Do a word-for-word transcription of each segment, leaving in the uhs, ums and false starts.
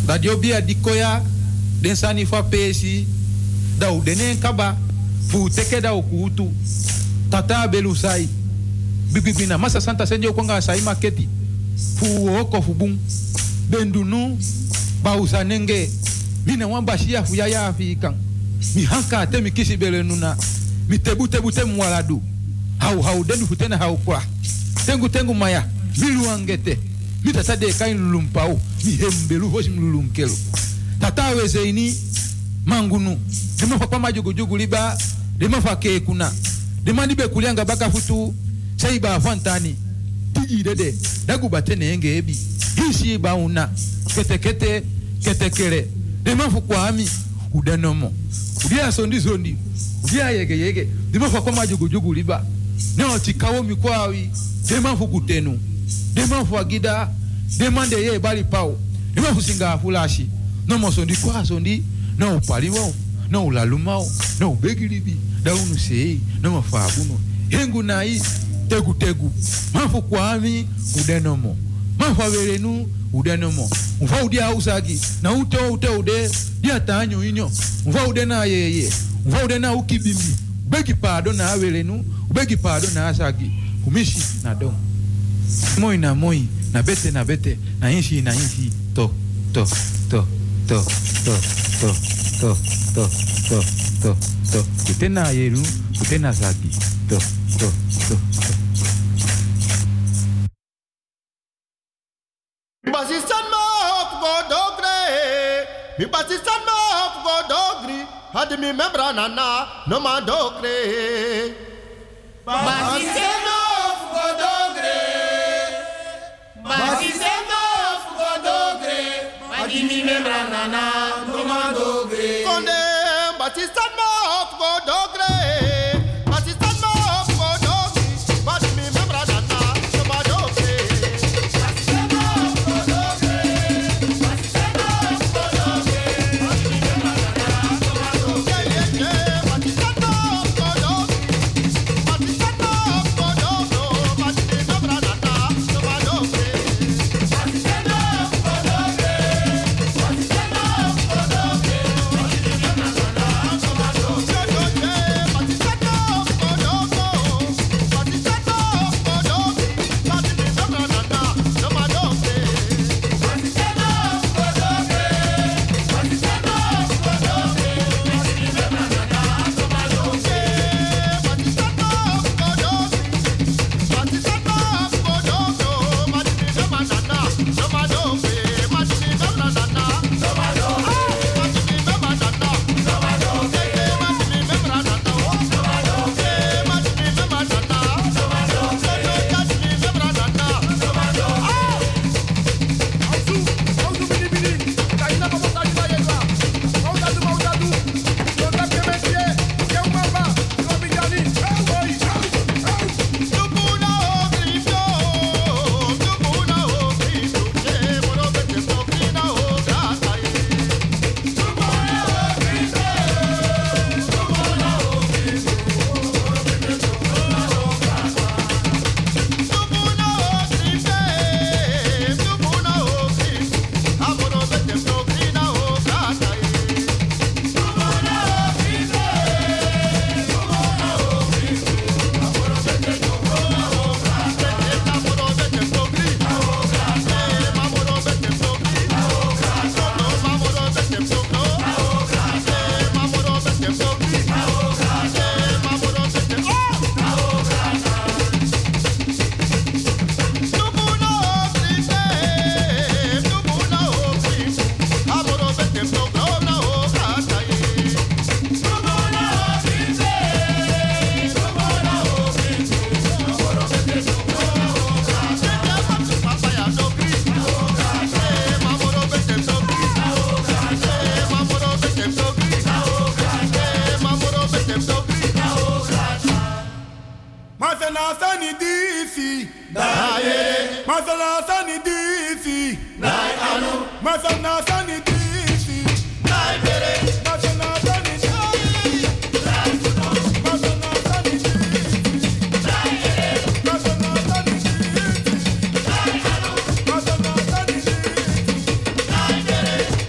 Dat yo bia dikoya den sani fa pesi da u denen kaba fu teke da ukutu tata belusai bibibina masa santa senjo kwanga sai maketi fu oko fu bum bendunu bausa nenge mina wamba shia fu ya ya afikan mi hanka te mi kisi bele nuna mi tebu tebu te mwaladu hau hau denu futena hau kwa tengu tengu maya milu angete mi tata de kain lulumpau mi hembelu hoshi mlulunkelo tata weze ini mangunu dema fa kwa majugu jugu liba dema fa ke kuna dema nibe kulianga baka futu saiba fantani tiji dede dagu batene enge ebi hisi ba una kete kete kete kere dema fa kwa ami udanomo udia sondi sondi udia yege yege dema fa kwa majugu jugu liba neo tikawo mikwawi dema fa kutenu dema fa gida dema de ye bali pao dema fa singa fulashi no mo sondi kwa sondi no paliwo no lalumao no begiribi da unu sei no mafabuno hengu nai tegu tegu mafu kwami udenomo mafu averenu udenomo mfa udia usagi na ute ute ude dia tanyo inyo mfa ude na yeye mfa ude na ukibimbi begi pado na averenu begi pado na asagi kumishi na don moi na moi na bete na bete na inshi na inshi to to to to to to to to to to to kutena yeru kutena zagi to to to Basistan ma hop go dogre mi basistan ma hop go dogri had mi membra nana no ma dogre Basistan ma hop go dogre Basistan ma hop go dogre had mi membra nana no ma dogre konde basistan ma hop go dogre basistan ma hop go dogri had mi membra nana no ma dogre Basistan ma hop go dogre Basistan ma hop go dogre had mi membra nana no ma dogre basistan ma hop go dogri basistan ma hop go dogro had mi membra nana no ma dogre Basistan ma hop go dogre Basistan ma hop go dogre had mi membra nana no ma dogre Masana sani difi, Nai anu, masana sani difi, Nai bere, masana sani difi, Nai kuno, masana sani difi, Nai ere, masana sani difi, Nai anu, masana sani difi, Nai bere,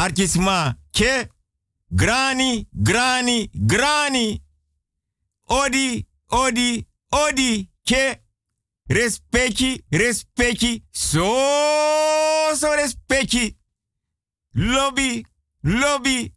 Arkisma. Che. Grani, grani, grani. Odi, odi, odi. Che. Respecti, respecti. So, so respecti. Lobby, lobby.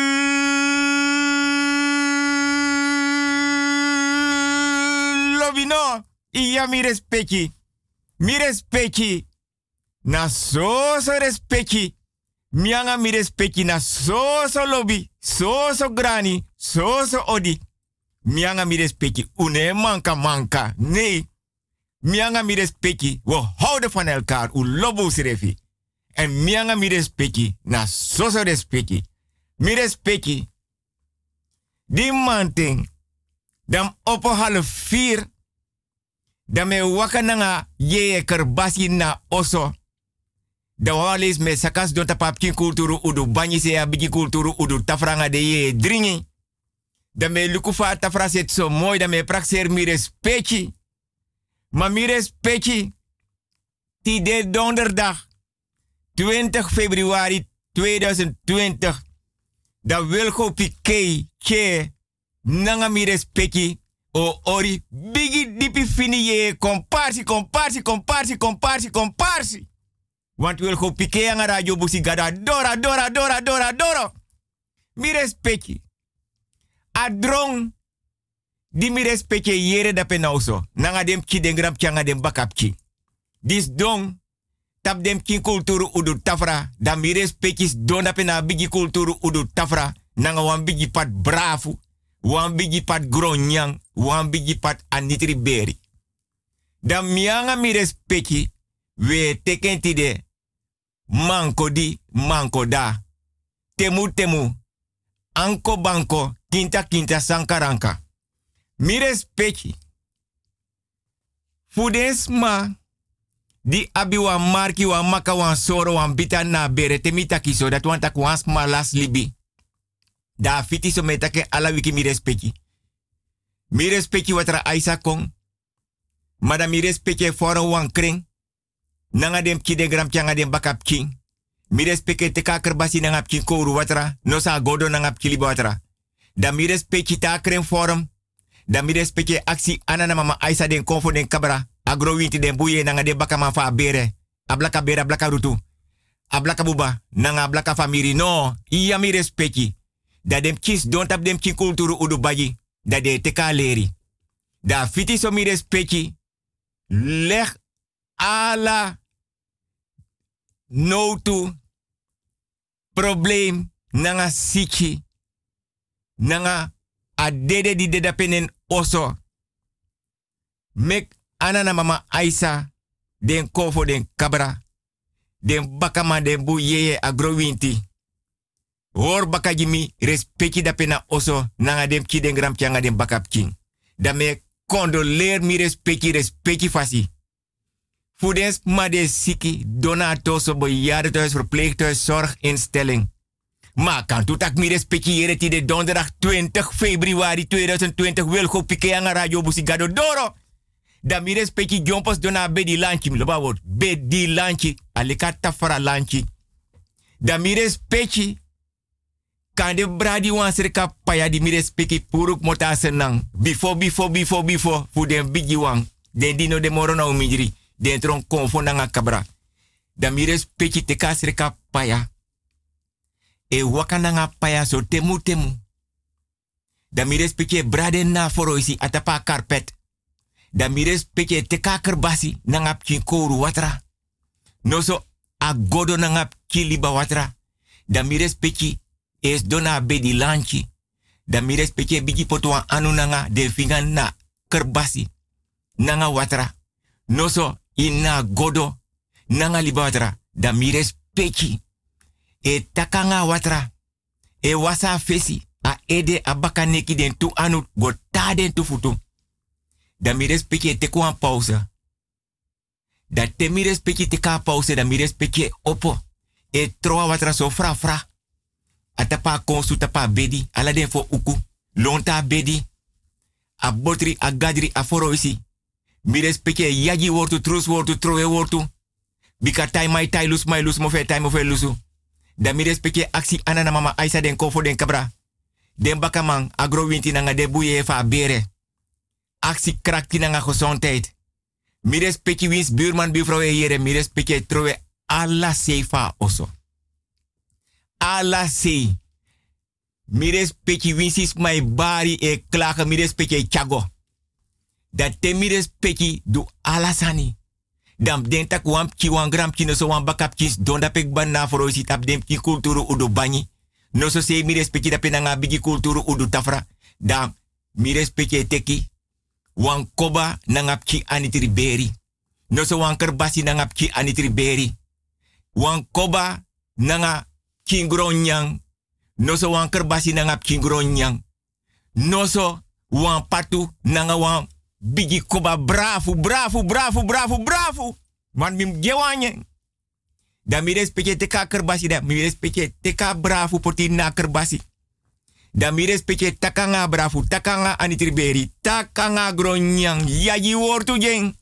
Lobby no. Iya mi respecti. Mi respecti. Na so, so respecti. Mianga mi respecti na so so lobby, so so grani, so so odi. Mianga mi respecti, une manka manka. Nee. Mianga mi respecti, we houden van elkaar, u lobo sirefi. En mianga mi respecti, na so so respecti. Mi respecti. Die manting, dam opo half vier, dam me waka nanga ye kerbasi na oso. Da walis me sakas don tapap kin kulturu udu banyi se ya bigi kulturu udu tafranga de ye dringi. Da me lukufa tafra set so mooi da me praxer mi respecti. Ma mi respecti. Ti de donderdag twintig februari tweeduizend twintig. Da Wilgo Piqué che nanga mi respecti. O ori bigi dipi fini ye comparsi comparsi comparsi comparsi comparsi. Want wil go pike aan radio busi gada dora dora dora dora dora. Mi respecti. Adrong di mi respecti yere da penauso. Nanga dem ki den gram changa dem bakapki. Dis dong tap dem ki kulturu udu tafra. Da mi respecti don da pena bigi kulturu udu tafra. Nanga wan bigi pat brafu. Wan bigi pat gronyang. Wan bigi pat anitri beri. Da mianga mi respecti. We teken tide. Manko di, manko da. Temu temu. Anko banko, kinta kinta sankaranka. Mi respecti. Fudens ma. Di abi wa marki wa maka wan soro wan bita na bere temita kiso dat wan tak wans ma las libi. Da fiti so metake ala wiki mi respecti. Mi respecti watra aisa kong. Mada mi respecti foro wan kring. Nanga dem ki de gram kyanga dem bakap king. Mi respecte te kaker basi nanga king kouru watra. No sa godo nanga kili watra. Da mi respecte ta krem forum. Da mi respecte aksi anana mama aisa den konfo den kabra. Agro winti den buye nanga de bakama fa bere. Ablaka bere ablaka rutu. Ablaka buba nanga ablaka famiri. No, iya mi respecte. Da dem kis don tap dem king kulturu udu baji. Da de te ka leri. Da fiti so mi respecte. Leg ala no to probleem nanga siki nanga adede di deda penen oso mek anana mama Aisa den kofo den kabra den bakama den bu yeye agrowinti hor bakajimi respecti da pena oso nanga dem ki den gram kyanga den bakap king da me condoleer mi respecti respecti fasi. Voedens maar de siki, donato, bejaardentehuis, verpleeghuis, zorginstelling. Maar kan toe tak mi respectiëren die de donderdag twintig februari tweeduizend twintig wil go pike aan radio busigado doro. Da mi respecti jompos dona bedi lanchi, mi loba word, bedi lanchi, aleka tafara lanchi. Da mi respecti kan de bradi wan serka paya di mi respecti puruk mota senang. Before, before, before, before, voor den bigi wan, den dino de morona umijiri. Dentron konfo nanga kabra. Da mi respecti te kasreka paya. E waka nanga paya so temu temu. Da mi respecti brade na foroisi atapa carpet. Da mi respecti te kakerbasi nanga pkin kouru watra. No so agodo nanga kiliba watra. Da mi respecti es dona bedi lanchi. Da mi respecti bigi potwa anu nanga de fingan na kerbasi. Nanga watra. No so ina godo nanga liba watra. Da mi respecti. E takanga watra. E wasa fesi. A ede abaka neki den tu anu gota den tu futu. Da mi respecti te kwa pausa. Da te mi respecti te ka pausa. Da mi respecti opo. E troa watra so fra fra. Atapa konsu tapa bedi. Ala den fo uku. Lonta bedi. A botri a gadri a foro isi. Mi respecte yagi wortu, trus wortu, troe wortu. Bika tai mai tai lus mai lus mo fe tai mo fe lusu. Da mi respecte aksi anana mama Aisa den kofo den kabra. Den bakamang agro winti nanga de buye fa bere. Aksi krakti nanga gezondheid. Mi respecte wins buurman buurvrouw e here. Mi respecte trowe alla sefa oso. Alla se. Mi respecte wins is my bari e klagen. Mi respecte chago. Dat te mi respecte do alla sani. Dam den tak wam ki wan gram ki no so wan bakap kis don da pek ban na foro si tap dem ki kulturu udo bani. No so se mi respecte da penanga bigi kulturu udo tafra. Dam mi respecte teki wan koba nangap ki anitri beri. No so wan kerbasi nangap ki anitri beri. Wan koba nanga kingronyang. No so wan kerbasi nangap kingronyang. No so wan patu nanga wan bigi koba bravo, bravo, bravo, bravo, bravo. Man mim gewanye. Da mi respecte teka kerbasi da. Mi respecte teka bravo poti na kerbasi. Da mi respecte takanga bravo, takanga anitriberi, takanga gronyang, yaji wortu jeng.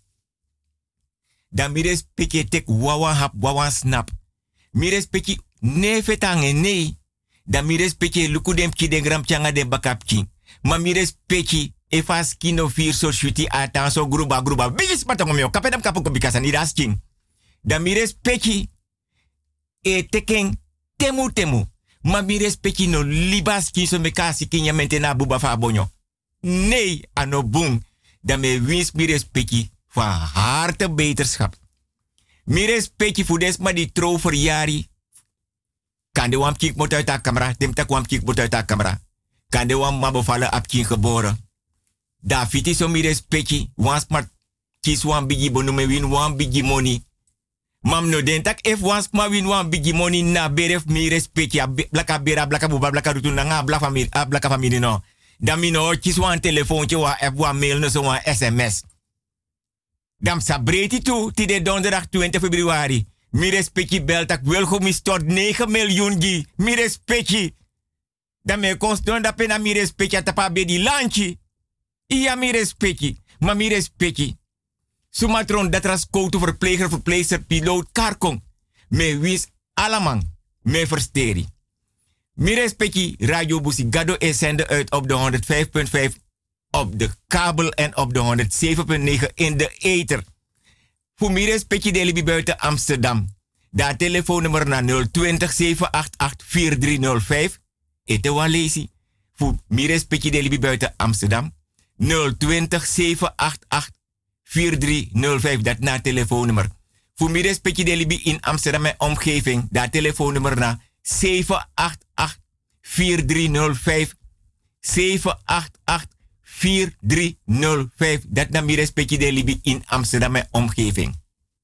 Da mi respecte tek wawan hap, wawan snap. Mi respecte ne fetange nee. Da mi respecte luku dem ki den gram changa den bakap king. Ma mi respecte efas kino fir so shuti atan so gruba gruba. Bigis patong meo, kapedam kapoko bikasan idas king. Da mi respecte e teken temu temu. Ma mi respecti no libas ki so me kasi ki nyamente na buba fa bonyo. Nee, ano boom. Dan me wins mi respecti van harte beterschap. Mi respecti voor des ma die trouw verjari. Kan de wam kik mot uit de camera. Dem tak wam kik mot uit de camera. Kan de wam ma bevallen ap kin geboren. Da fiti so mi respecti. Wan smart kis wan bigi bonu me win wan bigi money. Mam no den tak if once ma win wan bigi money na beref mi respect ya blaka bera blaka buba blaka rutu na nga blaka family a blaka family no. Dan mi no kis wan telefoontje wa app wan mail no so wan S M S. Dam sabreti tu ti de donderdag twintig februari. Mi respect je bel tak wel go mi stort negen miljoen gi. Mi respect je. Dan me constant da pena mi respect ya tapa be di lanchi. Iya mi respect je. Ma mi respect je. Sumatron dat ras koutu verpleger, verpleegster, piloot, karkong. Me wis alamang, me versteri. Mi respecti Radio Busigado is zender uit op de honderd vijf punt vijf op de kabel en op de honderd zeven punt negen in de ether. Voor mi respecti de libi buiten Amsterdam. Da telefoonnummer naar nul twintig zeven acht acht vier drie nul vijf. Ete wan lezi. Voor mi respecti de libi buiten Amsterdam. nul twintig zeven acht acht vier drie nul vijf, dat na telefoonnummer. Voor mi respecti de libi in Amsterdam en omgeving, dat telefoonnummer na zeven acht acht vier drie nul vijf. zeven acht acht vier drie nul vijf, dat na mi respecti de libi in Amsterdam en omgeving.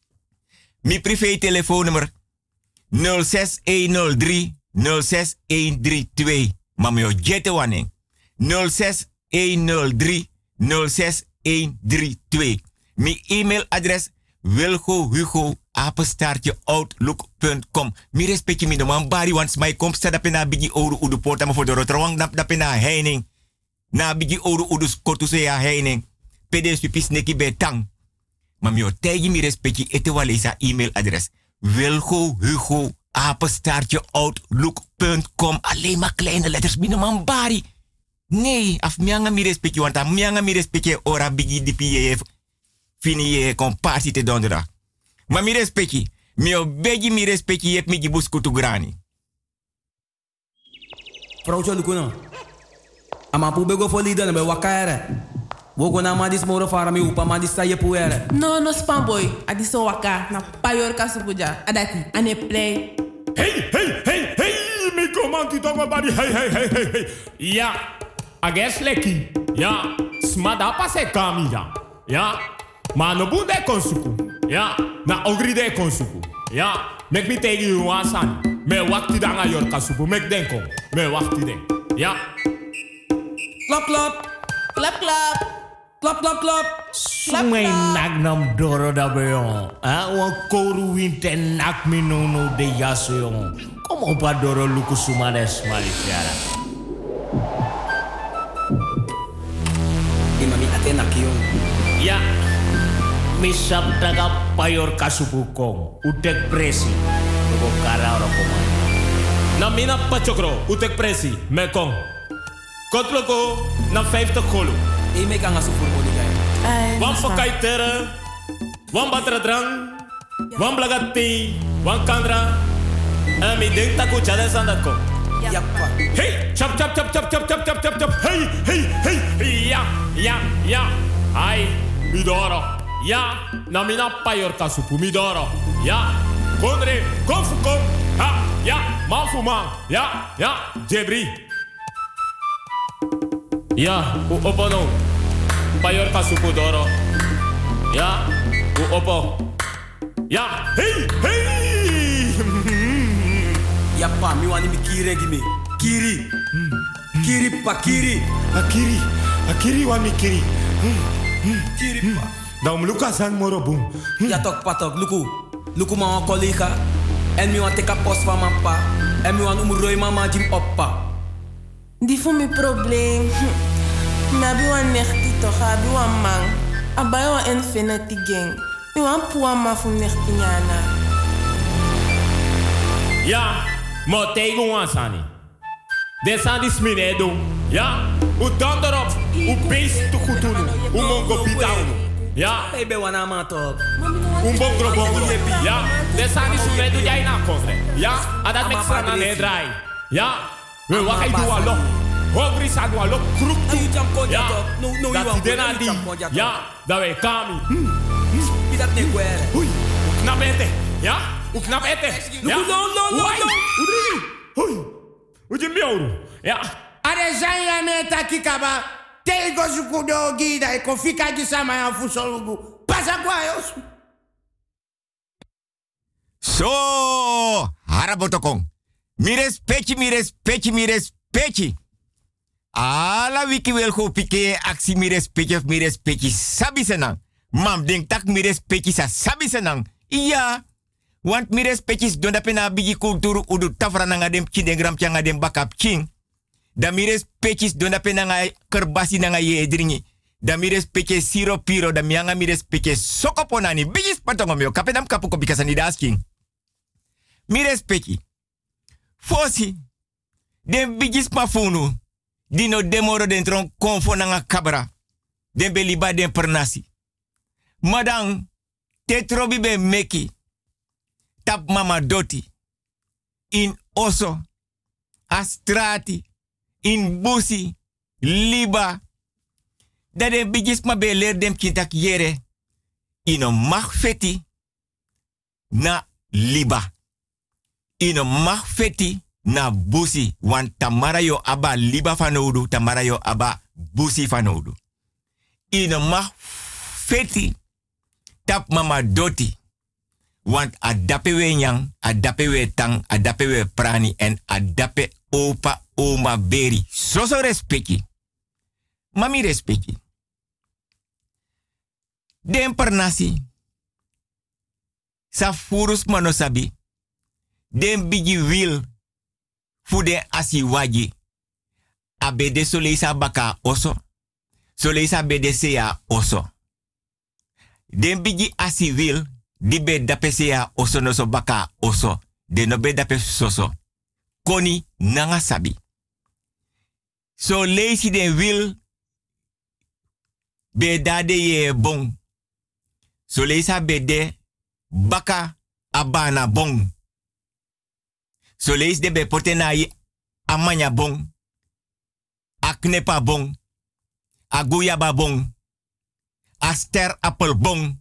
Mi privé telefoonnummer nul zes een nul drie nul zes een drie twee. Mamio jette wanneer. nul zes een nul drie nul zes een drie twee. Mi e-mailadres wilgohugo apenstaartje outlook punt com. Mi respecti mi no man bari want my komsta da pena bigi oru udu porta ma for de rotrowang da da pena heining. Na bigi oru udu skotu se ya heining. Pedes pipis neki betang. Ma mi otegi mi respecti ete walesa e-mailadres wilgohugo apenstaartje outlook punt com. Alleen maar kleine letters mi no man bari. Nee, af mianga mi respecti want a mianga mi respecti ora bigi di pf. Fini je compassie te donderdag. Maar mi respecti. Mi obegi mi respecti yep mi gibus kutu grani. Vrouwtje Lukuno. Ama pu bego for leader be wakaere. Wogo na madis moro fara mi upa madis sa yepuere. No no spam boy. Adiso waka na payor kasupuja. Adati ane play. Hey hey hey hey mi komanti tongo body hey hey hey hey hey. Ja. Ages leki. Ja. Smada pase kamia. Ja. Maar no bunde konsuku. Ja, na ogri de konsuku. Ja, mek mi tegi you wasan. Me wakti danga yor kasuku. Mek denko. Me wakti den. Ja. Klap klap. Klap klap. Klap klap klap. Sumay nak nam doro da beyon. Ah, wan koru winte nak mi no no de yaso yon. Kom op a doro luku sumades malifiara. Imami atena kiyon. Ja. Misap daga payor kasupukong. Udek presi. Tuko kara ora komando. Na mina pachokro, utek presi, me kong. Kotloko, na vijftig golo. Ik me kan gaan zo voor moeilijkheid. Wan pakai tere, wan batra drang, wan blagati, wan kandra. En mi denk tako challenge aan dat kom. Ja, pa. Hey, chop chop chop chop chop chop chop chop chop. Hey, hey, hey. Ja, ja, ja. Ai, midoro. Ja, na mina payor kasupu midoro. Ja, konre, kom fu kom. Ha, ja, man fu man. Ja, ja, Jebri. Ja, u opo no. Payor kasupu doro. Ja, u opo. Ja, hey, hey. Ja, pa, mi wani mi kiri gimi. Kiri. Kiri, pa, kiri. Akiri, akiri wa mi kiri. Kiri, pa. Dan luka san moro boom. Ja, tok, pa, tok. Luku. Luku, ma, een collega. En mi wan teka post van mijn pa. En mi wan umuroi mama jim oppa. Die voor mijn probleem. Maar heb je een nechtie toch? Heb je een man? Heb je een infinity gang? Je wan puwa ma voor nechtie nyana. Ja, maar tegen ons aan. Dit zijn die smine doen. Ja, u dan erop. U beest te goed doen. U mongo bitaun. Ja, Baby, wana ma tok. u bongro bongro. Ja, dit zijn die smine doen jij na kofre. Ja, en dat met z'n aan het draai. Ja, we wachten doen allo. Hongri zijn allo. Kroep toe. Ja, dat die den die. Ja, dat wij kami. Wie dat niet kwere? Oei, knap eten. Ja, u knap eten. Ja, no, no, no, Oei, no. u drie. Oei, u je miauw. Ja. Are zanya meta kikaba tego zukudo gida e kofika gisama ya fusolugu pasa kwa yos. So, harabotokong. Mi respecti, mi respecti, mi respecti. Ala wiki wel go pike aksi mi respecti of mi respecti sabi senang. Mam denk tak mi respecti sa sabi senang. Iya. Want mi respecti don dape na bigi kulturu udu tafra na ngadem kindegram tia ngadem bakap king. Da mi respecti don dape na ngai kerbasi na ngai edringi. Da mi respecti siro piro da mianga mi respecti sokoponani bigi spatongom yo kapedam kapuko bikasani dasking. Mi respecti. Fosi. Den bigi spafunu. Dino demoro den tron konfo nanga kabra. Den beliba den pernasi. Madang tetrobi be meki. Tap mama doti. In oso. Astrati. In busi. Liba. Dat den bigis ma be leer dem kintak yere. Ino mag feti. Na liba. Ino mag feti. Na busi. Want tamara yo aba liba fanodu. Tamara yo aba busi fanodu. Ino mag feti. Tap mama doti. Want adape we nyang, adape we tang, adape we prani en adape opa oma beri. So so respecti. Mami respecti. Den pernasi. Sa furus manosabi. Den bigi wil. Fude asi waji. Abede soleisa baka oso. Soleisa bede seya oso. Den bigi asi wil. Di be dape seya oso no so baka oso. De no be dape soso. Koni nanga sabi. So leisi den wil. Be dade ye bon. So leisa be de baka abana bon. So leis de be potenai amanya bon. Aknepa bon. Aguyaba bon. Aster apple bon.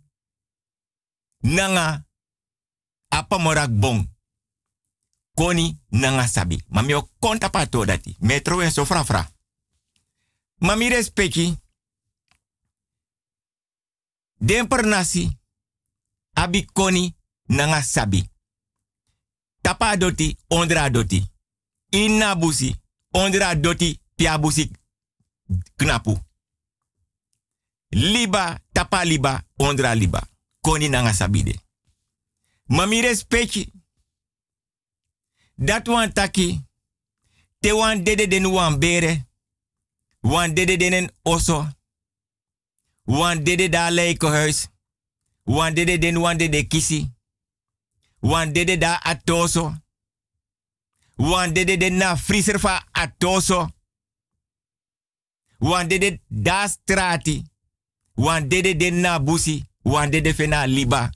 Nanga apamorak bon. Koni nanga sabi. Mami o konta pato dati. Metro en so fra fra. Mami respecti. Den per nasi. Abi koni nanga sabi. Tapa doti, ondra doti. Inna busi, ondra doti, pia busi knapu. Liba, tapa liba, ondra liba. Koni nanga sabide. Mami respecti. Dat wan taki. Te wan dede den wan bere. Wan dede den oso. Wan dede da leikohuis. Wan dede den wan dede kisi. Wan dede da atoso. Wan dede de na friser fa atoso. Wan dede da strati. Wan dede de na busi. Wan dede fe na liba.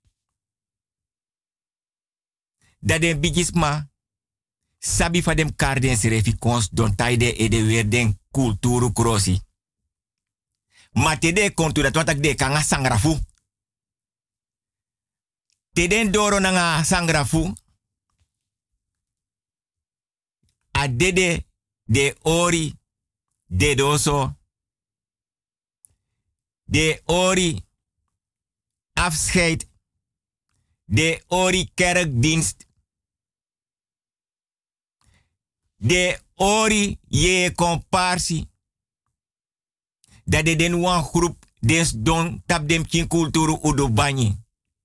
Dat den bigisma sabi fa dem karden serefi kons don taide e de weer den kulturu krosi. Ma te de kontu dat wantak de kanga sangrafu. Te den doro nanga sangrafu. A dede de ori de doso. De ori afscheid. De ori kerkdienst. De ori je comparsi. Dat de den wan groep des don tap dem kin kulturu udo banyi.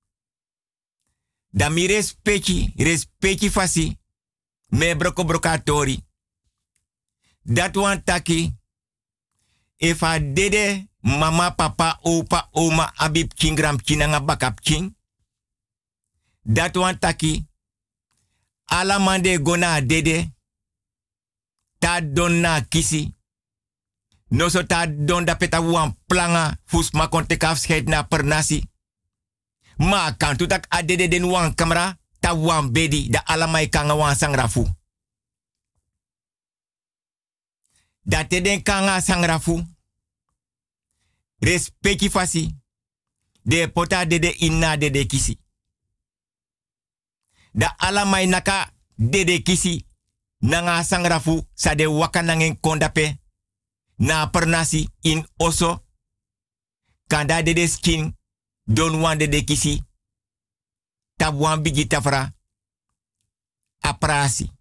Da mi respecti, respecti fasi. Me broko brokatori. Dat wan taki. If a dede mama, papa, opa, oma, abib kingram kinanga bakap king. Dat wan taki. Ala mande gona dede. Ta don na kisi. No so ta don da peta wan planga. Fus ma konte afscheid na per nasi. Ma kan tutak adede den wan kamera. Ta wan bedi da alamai kanga wan sangrafu. Da te den kanga sangrafu. Respecti fasi. De pota dede inna dede kisi. Da alamai naka dede kisi. Nanga sangrafu sa de waka nangen kondape. Na pernasi in oso. Kanda dede skin. Don wan dede kisi. Tab wan bigi tafra. Aprasi.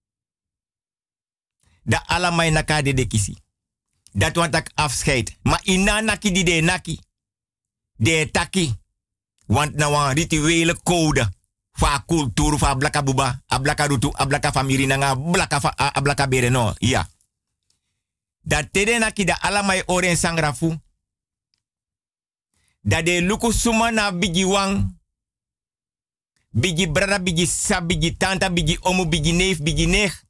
Da alamai naka dede kisi. Dat wan tak afscheid. Ma ina naki di de naki. De taki. Want na wan rituele code. Fa kulturu fa blaka buba, ablaka rutu, ablaka famiri nanga, blaka fa ablaka bere no. Ja. Dat tede naki da alamai oren sangrafu. Da de luku suma na bigi wang. Bigi brada, bigi sa, bigi tanta, bigi omu, bigi neef, bigi neef.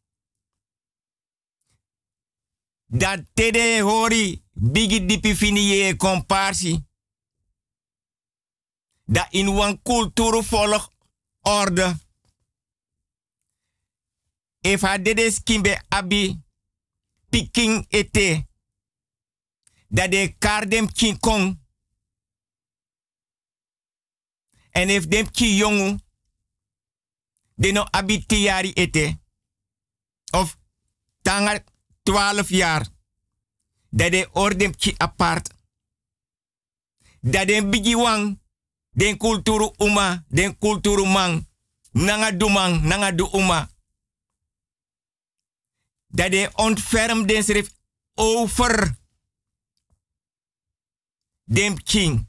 Dat tede hori, bigi dipi fini ye komparsi. Da in wan kulturu volg orde. If ha dede skimbe abi piking ete. Dat de kar dem kin kong. En if dem ki jongu. De no abi tiari ete. Of tanga twaalf jaar. Dat de ordem ki apart. Dat de bigi wang. Den kulturu uma, den kulturu mang. Nanga du mang, nanga du uma. Dat de ontferm den schrift over. Dem king.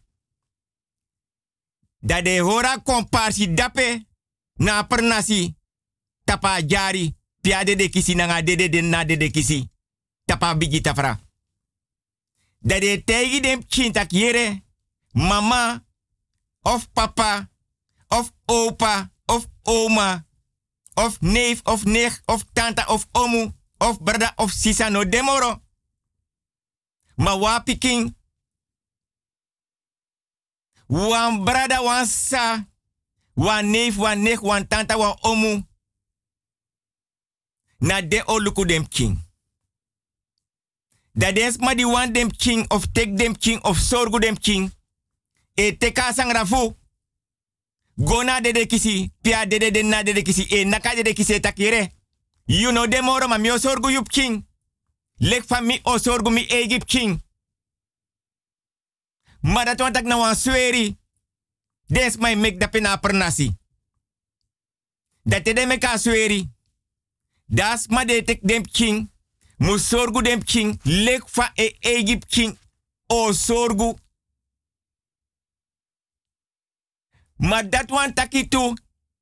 Dat de hora komparsi dape. Na pernasi. Tapa jari. Piade de kisi nanga dede den na dede kisi. Tapa bigi tafra. Dat de tegi dem king tak yere. Mama. Of papa, of opa, of oma, of neef, of nicht, of tante, of omu, of brada, of sisa no demoro. Ma wa piking. Wan brada, wan sa, wan neef, wan nicht, wan tante, wan omu. Na de oluku dem king. Da dens ma di wan dem king, of tek dem king, of sorgu dem king. E teka sangrafu. Gona dede kisi. Pia dede de na dede kisi. E naka dede kisi takire. You know demoro ma mi osorgu yup king. Lek fa mi osorgu mi Egypt king. Maar dat want ik nou aan sweri. Des mij mek dat pena pernasi. Dat te de meka sweri. Das ma de tek dem king. Mu sorgu dem king. Lek fa e Egypt king. O sorgu. Maar dat want taki tu.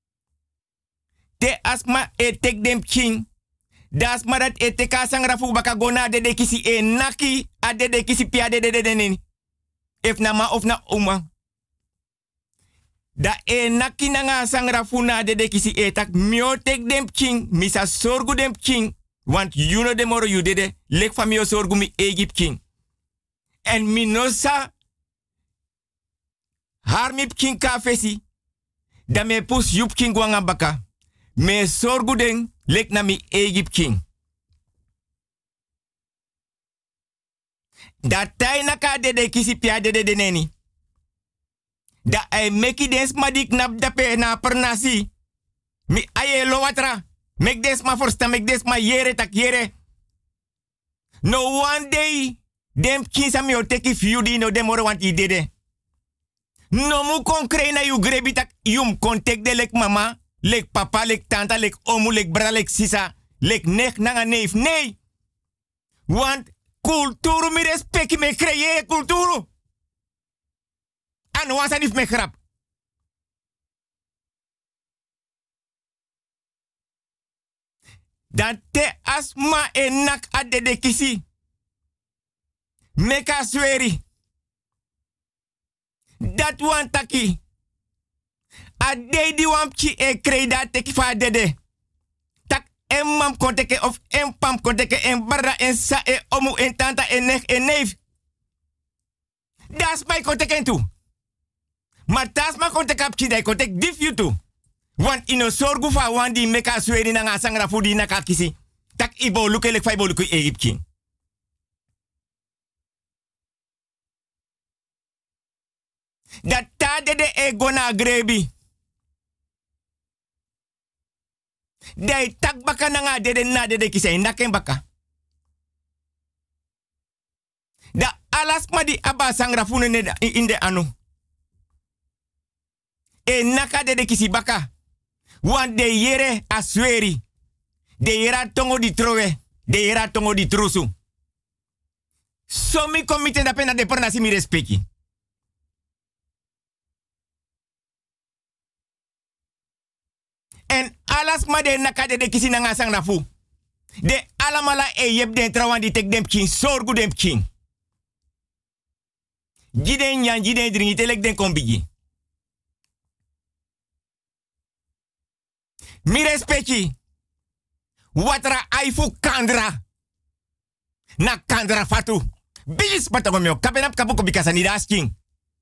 Te asma e tek dem king. Das ma dat e teka sangrafu baka gona de de kisi e naki. A de de kisi pia de de de de nini. If na ma of na oma. Da e nakinanga sangra funa de de kisi etak mio tek dem king misa sorgu dem king want you know demoro you dede lek famio sorgu mi Egypt king en minosa harmip king ka fesi da me pus yup king wanga baka me sorgu den lek na mi Egypt king da tai naka dede kisi pia dede de neni da ay meki des madik nap dape na pernasi. Mi aye lo watra. Mek des ma forsta, mek des ma yere tak yere. No one day, dem kinsa mi o teki fiudi no dem oro want i dede. No mu kon krei na yu grebi tak yum kon tek de lek mama, lek papa, lek tanta, lek omu, lek bra, lek sisa, lek nek nanga neef. Nee. Want kulturu mi respecti me kreye kulturu. En was niet meer grap. Dan te asma en nak ade de kisi. Meka sweri. Dat wan taki. Ade di wampchi e kreda teki fa dede. Tak en mam konteke of en pam konteke en barra en sa e omu en tanta en nek en neef. Das mij konteke en toe. Maar tas ma kontek kapchi dai kontek dif you too. Want ino sorgu fa wan di meka sweri na nga sangra fudi na kakisi. Tak ibo luke lek fa ibo luke Egypt king. Dat ta de de ego na grebi. Dai tak baka na nga de de na de de kisai na ken baka. Da alas ma di aba sangra fune ne in de anu. E naka de de kisi baka. Want de yere asweri. De yera tongo di trowe. De yera tongo di trusu. So mi komite da pena de pernasi mi respecti. En alas ma de naka de de kisi nanga sang na fu. De alamala e yep den trawan di tek dem king. Sorgu dem king. Jiden yan jiden dringi telek den kombigi. Mi respecti. Watra aifu kandra. Na kandra fatu. Bis patagomio. Kapenap kapuko bikasa ni dasking.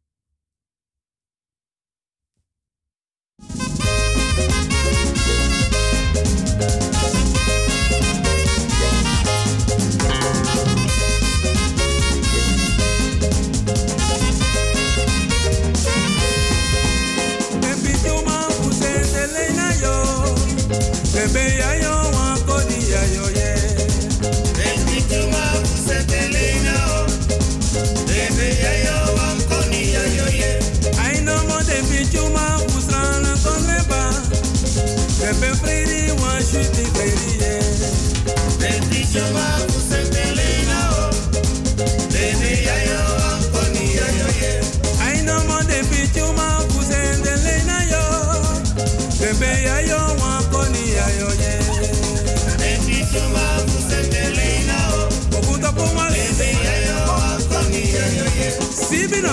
Bebe ya yo wan kodi ya yo ye. Baby tuma kusetelena o. Bebe ya yo wan kodi ya yo ye. I know mo de bichuma kusrana konreba. Bebe friri wan shuti friri ye. Baby tuma kusetelena o. Bebe ya yo wan kodi ya yo ye. I know mo de bichuma kusetelena yo. Bebe ya yo wan kodi ya yo ye. Baby tuma kusetelena o. Okuta poma. Bebe ya yo wan kodi ya yo ye. Sibina.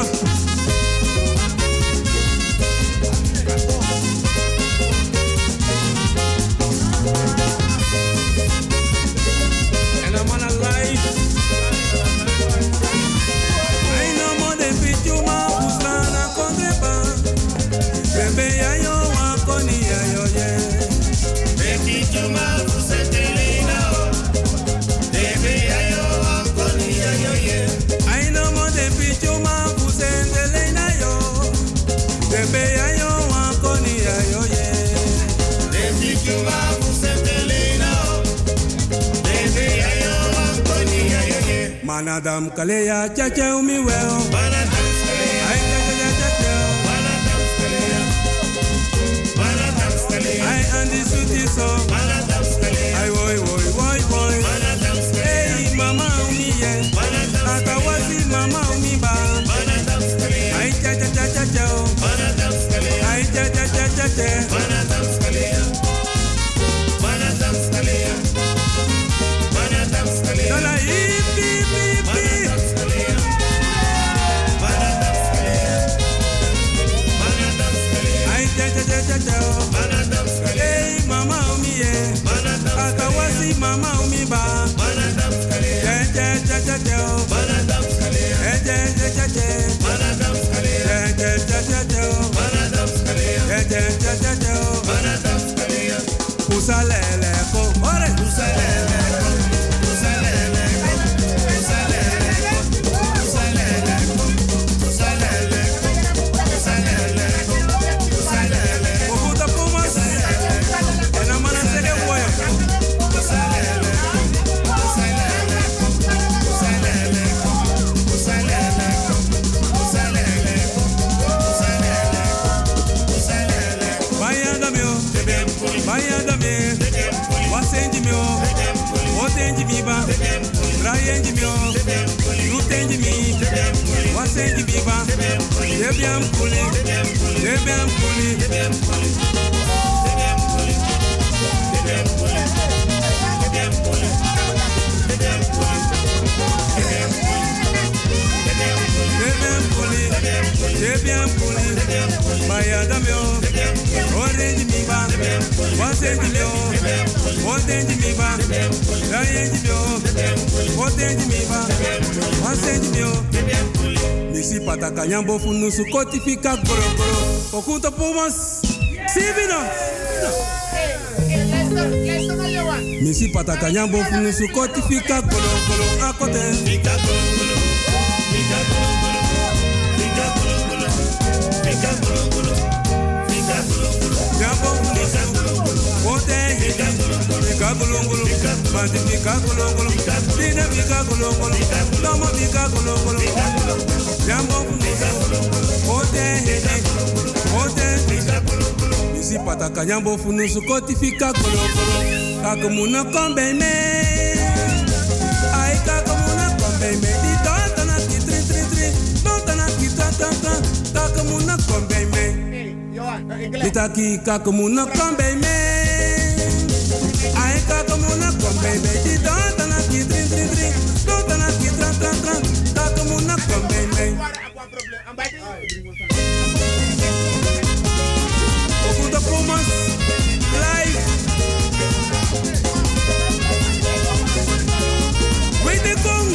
And I'm on a life. I know more than bichuma kusana kontreba. Bebe ya yo wan kodi ya yo ye. Baby tuma kusetelena o. Bebe ya yo wan kodi ya yo ye. I know more than bichuma kusetelena yo. Bebe ya yo wan kodi ya yo ye. Baby tuma kusetelena o. Bebe ya yo wan kodi ya yo ye. Manadam kaleya chache umi weo. Manadam kaleya. Ay chache chache. Manadam kaleya. Manadam kaleya. Ay andi suti so. Manadam kaleya. Ay boy boy boy boy. Manadam kaleya. Hey mama umi ye. Manadam kaleya. Akawasi mama umi ba. Manadam kaleya. Ay chache chache chache. Manadam kaleya. Ay chache chache chache. Manadam kaleya. Manadam kaleya. Manadam kaleya. Dola hip hip hip hip. Manadam kaleya. Manadam kaleya. Manadam kaleya. Rayenji mio, Lutenji mi, Wasenji biba, Debiam kuli, Debiam kuli, Debiam kuli, Debiam kuli, Debiam kuli, Debiam kuli, Debiam kuli, Debiam kuli, Debiam kuli, Bayada mio, Orange mi ba, Wasenji mio, Orange mi ba, Rayenji mio, Orange mi ba, Wasenji mio, Misi pataka nyambo funu su kotifika goro goro, Okunto pumas, Sivino. Misi pataka nyambo funu su kotifika goro goro, Akote. Fika goro goro, fika goro goro, fika goro goro, fika goro goro, fika goro goro, nyambo funu su kote, fika goro goro, fika goro goro, mati fika goro goro, dina fika goro goro, lama fika goro goro, nyambo funu su kote, kote, fika goro goro. Misi pataka nyambo funu su kotifika goro goro, kakumuna kombe me, ai kakumuna kombe me, di tata na ki tri tri tri, tata na ki tata tata, kakumuna kombe me, di taki kakumuna kombe me, ai kakumuna kombe me, di tata na ki tri tri tri, tata na ki tata tata, kakumuna kombe me. Okuda Pumas live. Wait the gong.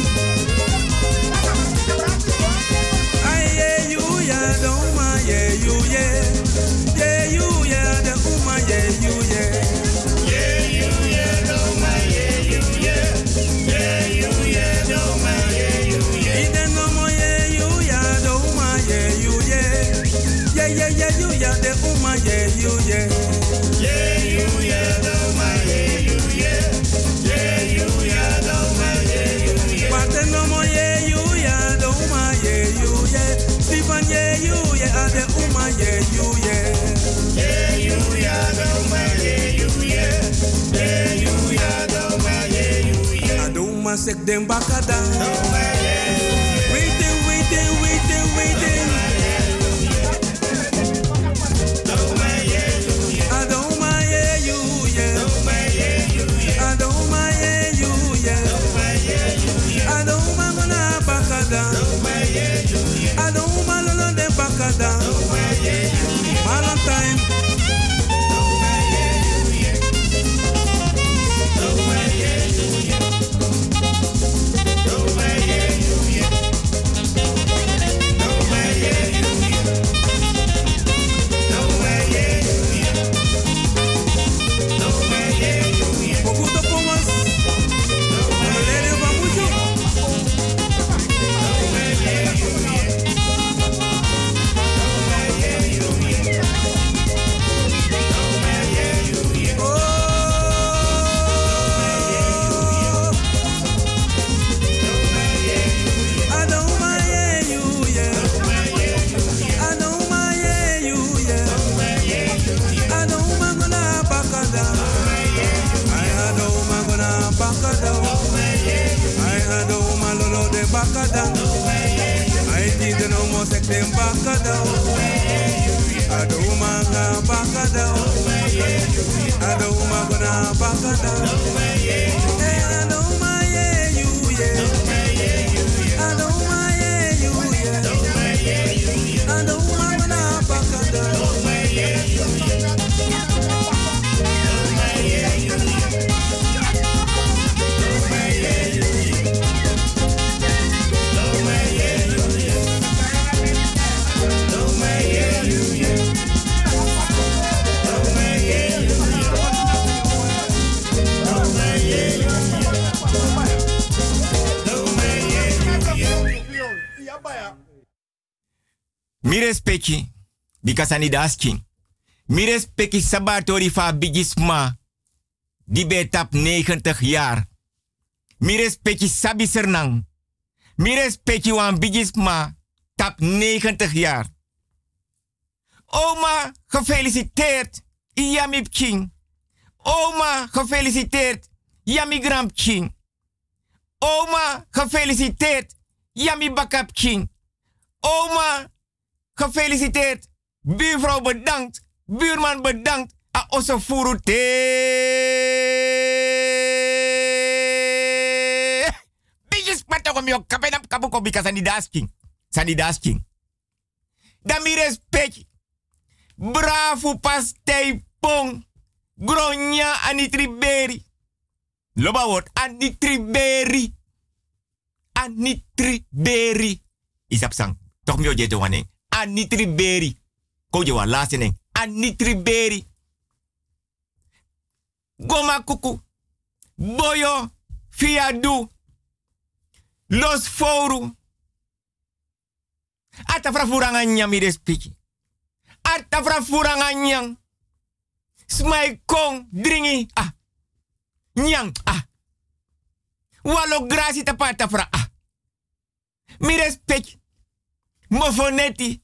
Ay yeah you yeah the uma yeah you yeah yeah you yeah the uma yeah you yeah yeah you yeah the uma yeah you yeah yeah you yeah the uma yeah you yeah ide no mo yeah you yeah the uma yeah you yeah yeah yeah yeah you yeah the uma yeah you yeah yeah you yeah the uma yeah you yeah yeah you yeah the uma yeah you yeah Pate no mo yeah you yeah the uma yeah you yeah Stephen yeah you yeah the uma yeah you yeah yeah you yeah the uma yeah you yeah yeah you yeah the uma yeah you yeah Aduma sek dem bakada waiting waiting waiting waiting Aduma yeah you yeah Aduma yeah you yeah Aduma gonna bakada Aduma lolo de bakada Valentine Okuda Pumas Lele va mucho Aduma yeah you yeah Aduma yeah you yeah Aduma gonna bakada I Aduma gonna bakada I Aduma lolo de bakada I did no more sek dem bakada Aduma gonna bakada Aduma gonna bakada Hey Aduma yeah you yeah Aduma yeah you yeah Aduma gonna bakada Mi respecti, because I need asking. Mi respecti sabatori fa bigisma, die betap negentig jaar. Mi respecti sabi sernang. Mi respecti wan bigisma, tap negentig jaar. Oma, gefeliciteerd, Yami King. Oma, gefeliciteerd, Yami Gram King. Oma, gefeliciteerd. Yami Bakap King. Oma, gefeliciteerd. Buurvrouw bedankt. Buurman bedankt. A oso furu te. Bijis patoko mio kapenap kabuko bika sani dasking. Sani dasking. Dami respect. Bravo pastei pong. Gronya anitriberi. Loba word anitriberi. Anitriberi. Isap sang. Toch mio jeto wane. Anitriberi. Ko je wa laatste ning. Anitriberi. Goma kuku. Boyo. Fiadu. Los foru. Ata fra furanga nyam ide spiki. Ata fra furanga nyang. Smai kong dringi. Ah. Nyang. Ah. Walo grasi tapata fra. Ah. Mi respect. Mofoneti.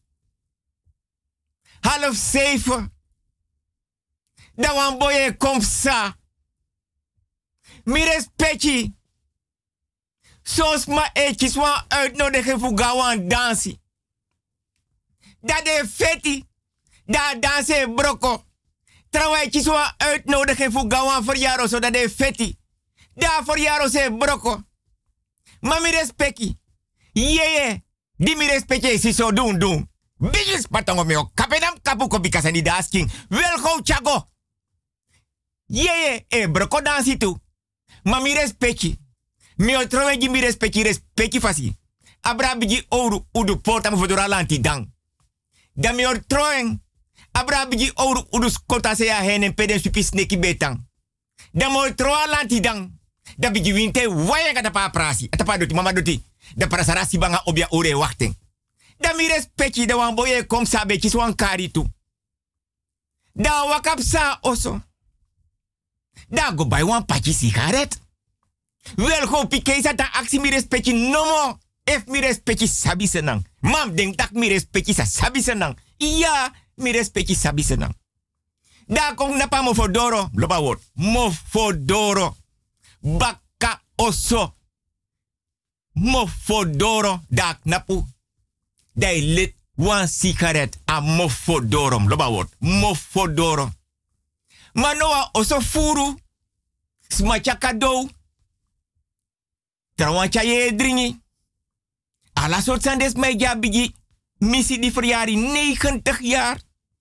Half zeven. Da wan boye kom sa. Mi respecti. Sos ma etjes wan uitnodigen voor gawan dansi. Da de feti. Da danse broko. Trouwens wan uitnodigen voor gawan verjaro zodat de feti. Da verjaro se broko. Ma mi respecti. Yeye. Di mi respecti si so doen doen. Bigis patongo meo. Kapenam kapuko bikasa ni dasking. Welgo chago. Yeye e broko dansi tu. Ma mi respecti. Mi trowe ji mi respecti respecti fasi. Abra bigi ouro udu porta mo fodora lanti dang. Da mi trowe. Abra bigi ouro udu skota se ya henen peden supi sneki betang. Da mo trowe lanti dang. Da bigi winte waya kata pa prasi. Atapa doti mama doti. Da prasarasi banga obia ore wachten. Da mi respecti da wan boye kom sabe kis wan kari tu. Da wakap sa oso. Da go buy wan pachi sigaret. Wel go pike sa ta aksi mi respecti no mo. Ef mi respecti sabi senang. Mam denk tak mi respecti sa sabi senang. Iya mi respecti sabi senang. Da kong napa mo fodoro. Loba word. Mo fodoro. Baka oso. Mo fodoro dak napu. Dai lit wan sigaret a mo fodorom. Loba word. Mo fodoro. Manoa oso furu. Smacha kado. Trawancha ye dringi. Ala soort sandes mij ja bigi. Missie die verjari negentig jaar.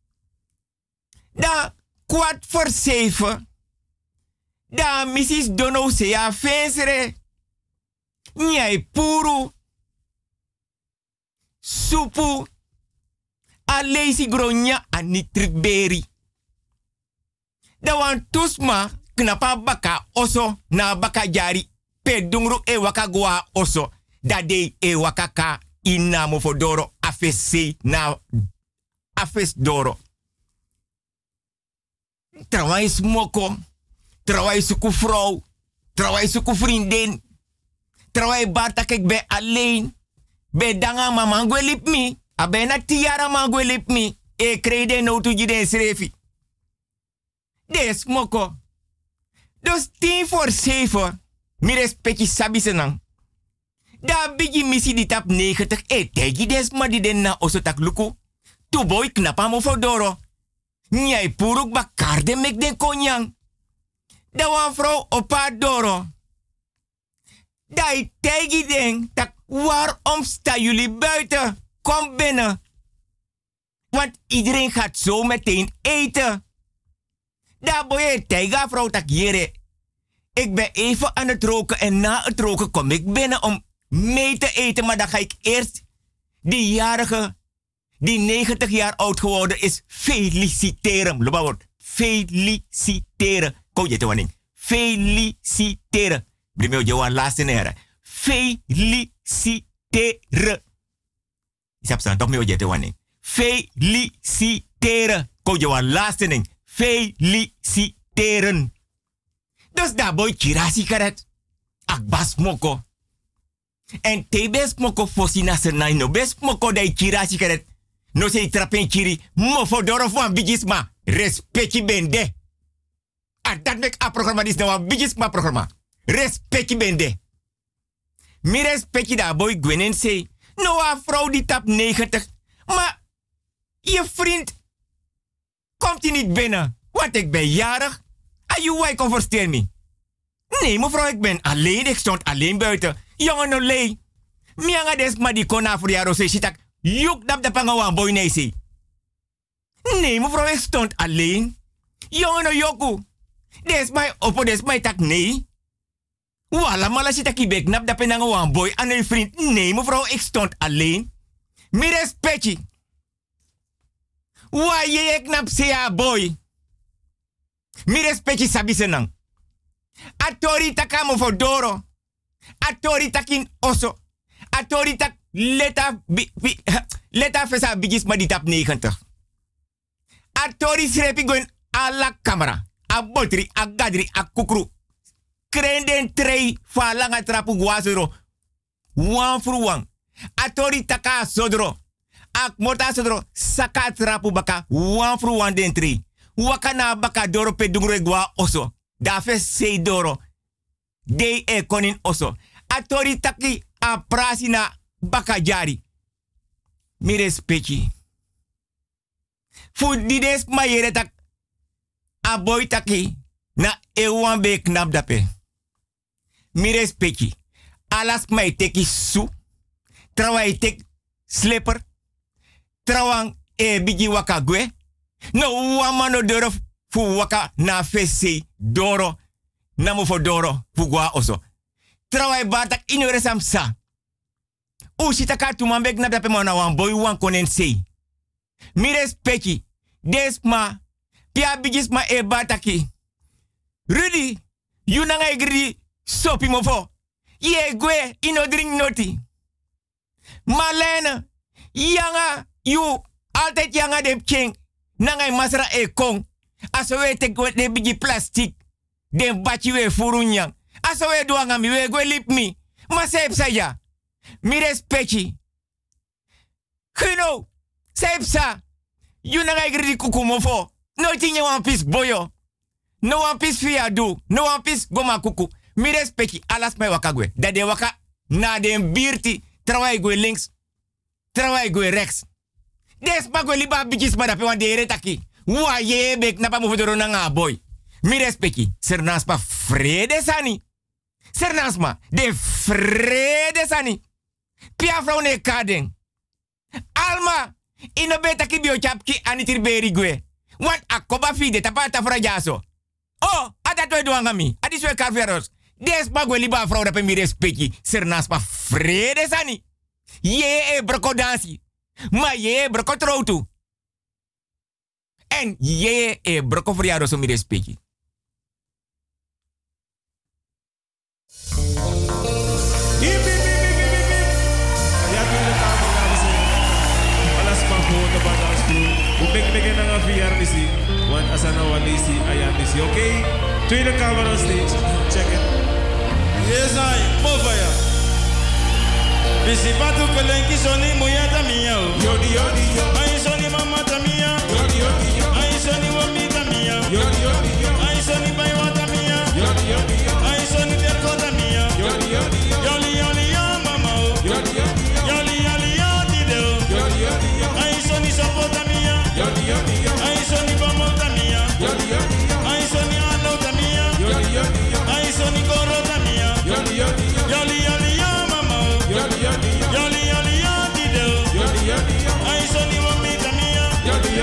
Da kwart voor zeven. Da missis dono se ya fensere. Nyai puru. Supu. A lazy gronya a nitriberi. Da wan tusma knapa baka oso na baka jari. Pe dungru e waka gwa oso. Da de e waka ka ina mo fodoro afese na afes doro. Trawai smoko. Trawai suku vrouw. Trawai suku vriendin. Trawai barta kek be alleen. Be danga mama ngwe lip mi. Abe na tiara ma ngwe lip mi. E krede no tu jide srefi. Des moko. Dus tien voor zeven. Mi respecti sabi senang. Da bigi misi di tap negentig. E tegi des ma di den na oso tak luku. Tu boy knapa mo fodoro. Nyai puruk bakar de mek den konyang. Da wan vrouw opa doro. Dai tegi den tak waarom sta jullie buiten? Kom binnen. Want iedereen gaat zo meteen eten. Da boy tega vrouw tak jere. Ik ben even aan het roken en na het roken kom ik binnen om mee te eten. Maar dan ga ik eerst die jarige, die negentig jaar oud geworden is, feliciteren. Loba woord. Feliciteren. Kom je te wanneer? Feliciteren. Brimeo Johan laatste nere. Feliciteren. Isap san toch mee je te wanneer? Feliciteren. Kom je wan laatste ning. Feliciteren. Dus daar boy kirasi karet. Akbas moko. En te bes moko fosina senai no bes moko dai kirasi karet. No se trapen kiri. Mo fodoro fu ambijisma. Respecti bende. A dat mek a programma dis nou ambijisma programma. Respecti bende. Mi respect je daar, boy Gwenin zei. Nou, een vrouw die tap negentig. Maar je vriend komt hij niet binnen. Want ik ben jarig. En je wij kon verstaan me. Nee, mevrouw, ik ben alleen. Ik stond alleen buiten. Jongen, no lei. Mianga des maar die kona voor jaren zei. Sitak, juk dap de pangawan boy nee zei. Nee, mevrouw, ik stond alleen. Jongen, no yoku. Des mij opo, des mij tak nee. Wala mala si taki bek nap dape nanga wan boy aan een vriend. Nee, mevrouw, ik stond alleen. Mi respecti. Wa je ek nap se ya boy. Mi respecti sabi senang. Atori taka mo for doro. Atori takin oso. Atori tak leta bi, bi, leta fesa bigis ma di tap negentig. Atori srepi goin ala camera. A botri, a gadri, a kukru. Krenden trei fa langa trapu guazero. Wan fru wan. Atori taka sodro. Ak mota sodro. Saka trapu baka. Wan fru wan den trei. Wakana baka doro pe dungre gwa oso. Dafe sei doro. Dei e konin oso. Atori taki a prasina baka jari. Mi respecti. Fu dides mayere tak. A boy taki. Na ewan be knap dape. Mi respecti. Alas mai teki su. Trawai tek slipper. Trawang e bigi waka gwe. No wamano doro fu waka na fese doro. Namu fo doro fu gwa oso. Trawai batak inyore samsa. U sitaka tumambe knap dape mana wan boy wan konen sei. Mi respecti. Desma. Pia bigis ma e bataki. Rudy, you nanga igri sopi mofo. Ye gwe ino drink noti. Malene, yanga you altijd yanga de king. Nanga masra e kong. Aso we tek de bigi plastic. Den bachi we furunyang. Aso we doanga mi we gwe lip mi. Ma sep saya. Mi respecti. Gino, sep sa. You nanga igri kuku mofo. No tinye one piece boyo. No one piece via do. No one piece goma kuku. Mi respecti alas mai wakagwe. Dat de waka na den birti. Trawai gwe links. Trawai gwe rechts. Des pa gwe liba bijis ma dape wan de retaki. Wa ye bek na pa mo fodoro na nga boy. Mi respecti. Sernansma vrede sani. Sernansma de vrede sani. Pia vrouw ne kadeng. Alma. Ino betaki bio chapki anitir beri gwe. Want akoba fide tapata frajaso. Oh, ada toi doangami. Adi swe carveros. Des bagwe liba vrouw dat mi respecti. Sernas pa vrede sani. Ye e broko dansi. Ma ye e broko troutu. En ye e broko friado so mi respecti. We begin begin aan V R D C. Want asana walisi ayandisi. Okay? Tweede kamer on stage. Check it. Yes, I. Movaya. Bisi patu pelenki soni muyata miya. Yodi yodi yo. Ai soni mama tamia. Yodi yodi yo. Ai soni wami tamia. Yodi yodi yo. Ai soni baywa tamia. Yodi yodi yo. Ai soni derko tamia. Yodi yodi yo. Yoli yoli yo mama. Yodi yodi yo. Yoli yoli yo didel. Yodi yodi yo. Ai soni sopota mia. Yodi yodi yo. Ai soni bamota mia. Yodi yodi yo. Ai soni anota mia. Yodi yodi yo. Ai soni korota mia. Yodi yodi yo. Yoli yoli yo mama. Yodi yodi yo. Yoli yoli yo didel. Yodi yodi yo. Ai soni wamita mia. Yodi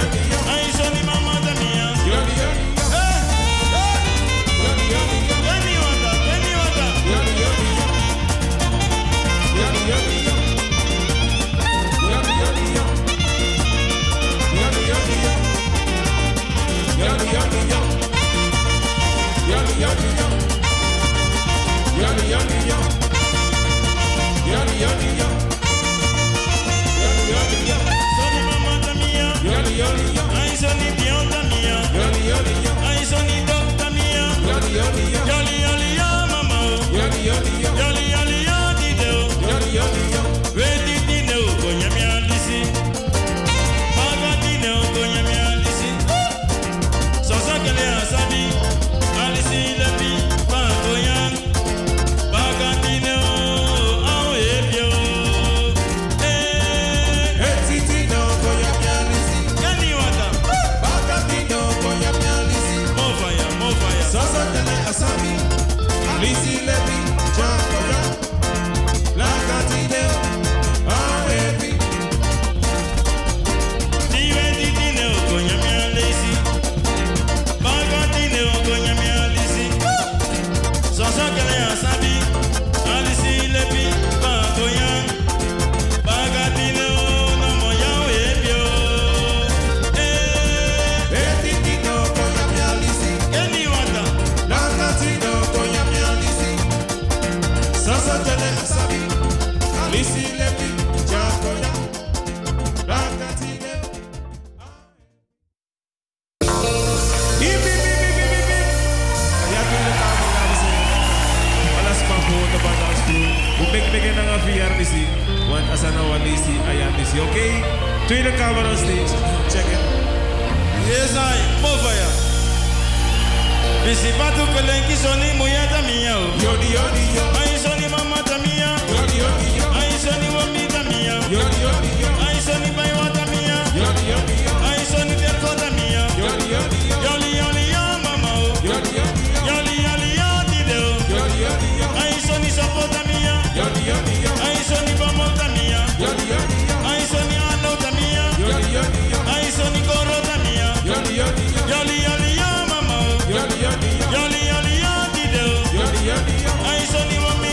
Sasa jale asabi. Alisi lepi. Jakoya. Rakatile. We begin ang V R D C. One asana walisi ayandisi. Okay? Tweede camera on stage. Check it. Yes, I. Movaya. Bisi patu kelenki soni muyata miya. Yodi yodi yo. Ai soni mama tamia. Yodi yodi yo. Ai soni wami tamia. Yodi yodi yo. Ai soni baywa tamia. Yodi yodi yo. Ai soni terko tamia. Yodi yodi yo. Yoli yoli yo mama. Yodi yodi yo. Yoli yoli yo tideo. Yodi yodi yo. Ai soni sopo tamia. Yodi yodi yo. Ai soni bamol tamia. Yodi yodi yo. Ai soni ano tamia. Yodi yodi yo. Ai soni koro tamia. Yodi yodi yo. Yoli yoli yo mama. Yodi yodi yo. Yoli yoli yo tideo. Yodi yodi yo. Ai soni wami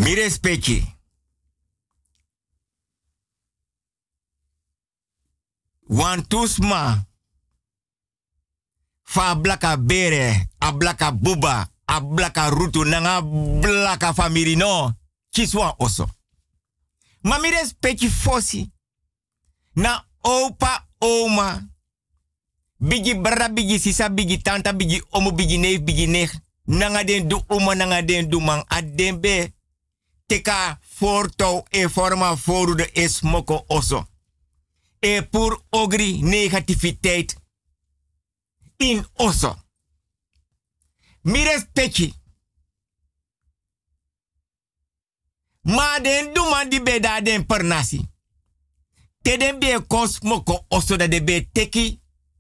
Mi respecti. Wan tusma. Fa blaka bere, a blaka buba, a blaka rutu, nanga blaka famiri no. Kiswa oso. Ma mi respecti fosi. Na opa oma. Bigi bra bigi sisa bigi tanta bigi omo bigi neef bigi neef. Nanga den du oma nanga den du man adembe. Teka forto e forma foru de esmoko oso. E pur ogri negativiteit in oso. Mi respecti. Ma den du man di beda den per nasi. Te den be kosmoko oso da de be teki.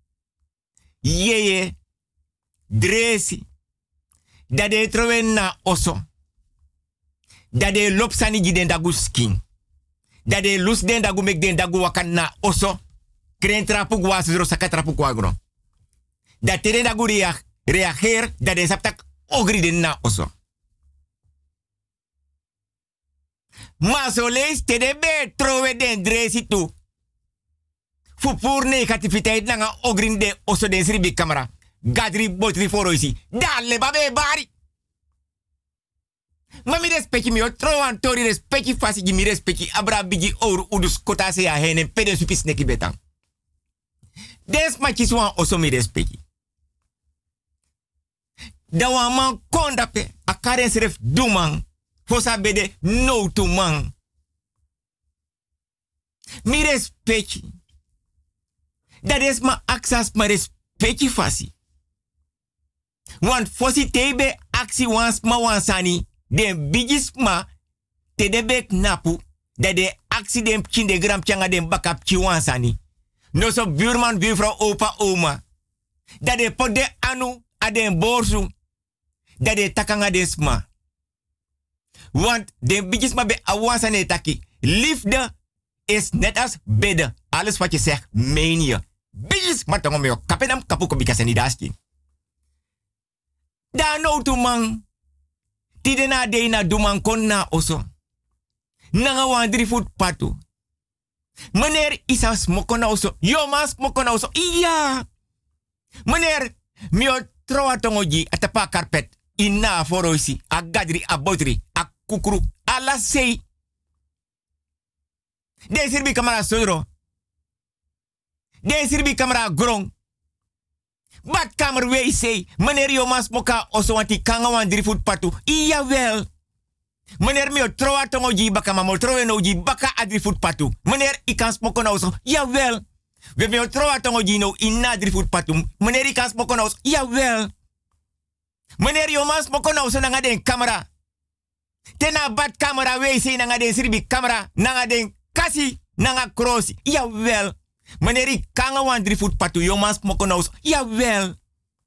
Yeye. Dresi. Da de trowen na oso. Da de lopsani gi den dagu skin. Da de lus den dagu mek den dagu wakan na oso. Kren trapu gwa zero saka trapu kwa gro. Da te den dagu reag, reageer. Da de saptak ogri den na oso. Ma so lees te de be trowe den dresi tu. Fu pur negativiteit nanga ogrin de oso den sribi camera. Gadri botri foroisi. Dalle babe bari. Ma mi respecti mi o trowan tori respecti fasi gi mi respecti abra bigi ouro udus kota se ya henen pede supis neki betan. Des ma kiswan oso mi respecti. Da wan man kondape a karen seref duman. Fosa bede no to man. Mi respecti. Dat is ma aksas ma respecti fasi. Want fosi tebe aksi wans ma wansani. Den bigis ma te de bek napu. Dat de aksi den pchin de gram changa den bakap chi wansani. No so buurman, buurvrouw, opa, oma. Dat de pot de anu a den borsu. Dat de takanga den sma. Want den bigis ma be awansane taki. Liefde is net als bidden. Alles wat je zegt, meen je. Bigis ma tongo me yo kapenam kapuko bikaseni daski. Da no tu man. Tide na de na duman kon na oso. Nanga wan drie voet patu. Meneer isa smoko na oso. Yo ma smoko na oso. Iya. Meneer, mio troa tongoji atapa carpet. Ina foroisi. A gadri, a botri, a kukuru. A la sei. De sirbi kamera sodro. De sirbi kamera grong. Badkamer wc. Meneer yo mas moka oso wanti kanga wan drie voet patu. Iya wel. Meneer mio troa tongoji baka mamo troe noji baka a drie voet patu. Meneer ikan smoko na oso. Ja wel. We mio troa tongoji no ina drie voet patu. Meneer ikan smoko na oso. Ja wel. Meneer yo mas moko na oso nanga den camera. Tena badkamer wc nanga den sirbi camera. Nanga den kasi nanga krosi. Ja wel. Meneer ik kanga wan drie voet patu jomas moko na oso. Jawel.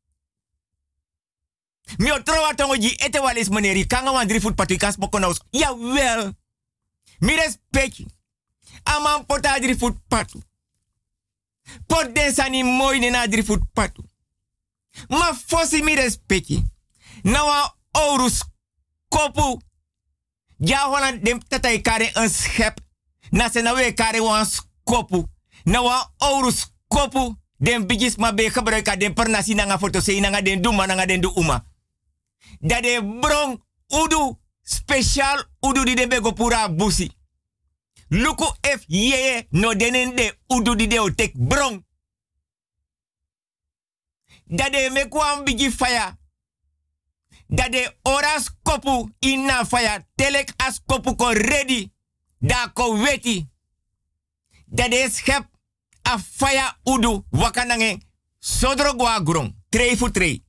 Mio trowa tongoji ete walis meneer ik kanga wan drie voet patu ikas moko na oso. Jawel. Mi respecti. Aman pota drie voet patu. Pot den sani mooi ne na drie voet patu. Ma fosi mi respecti. Na wan orus kopu. Ja Holland dem tata ikare een schep. Na se na we kare wan kopu. Na wa orus kopu den bigis ma be gebruika den per nasi nanga foto sei nanga den duma nanga den du uma. Da de brong udu special udu di de bego pura busi. Luku F yeye no denen de udu di de o tek brong. Da de mekwam bigi fire. Da de oras kopu inna fire telek as kopu ko ready. Da ko weti. Da de schep a faya udu wakanange sodro gwa grong trei fu trei.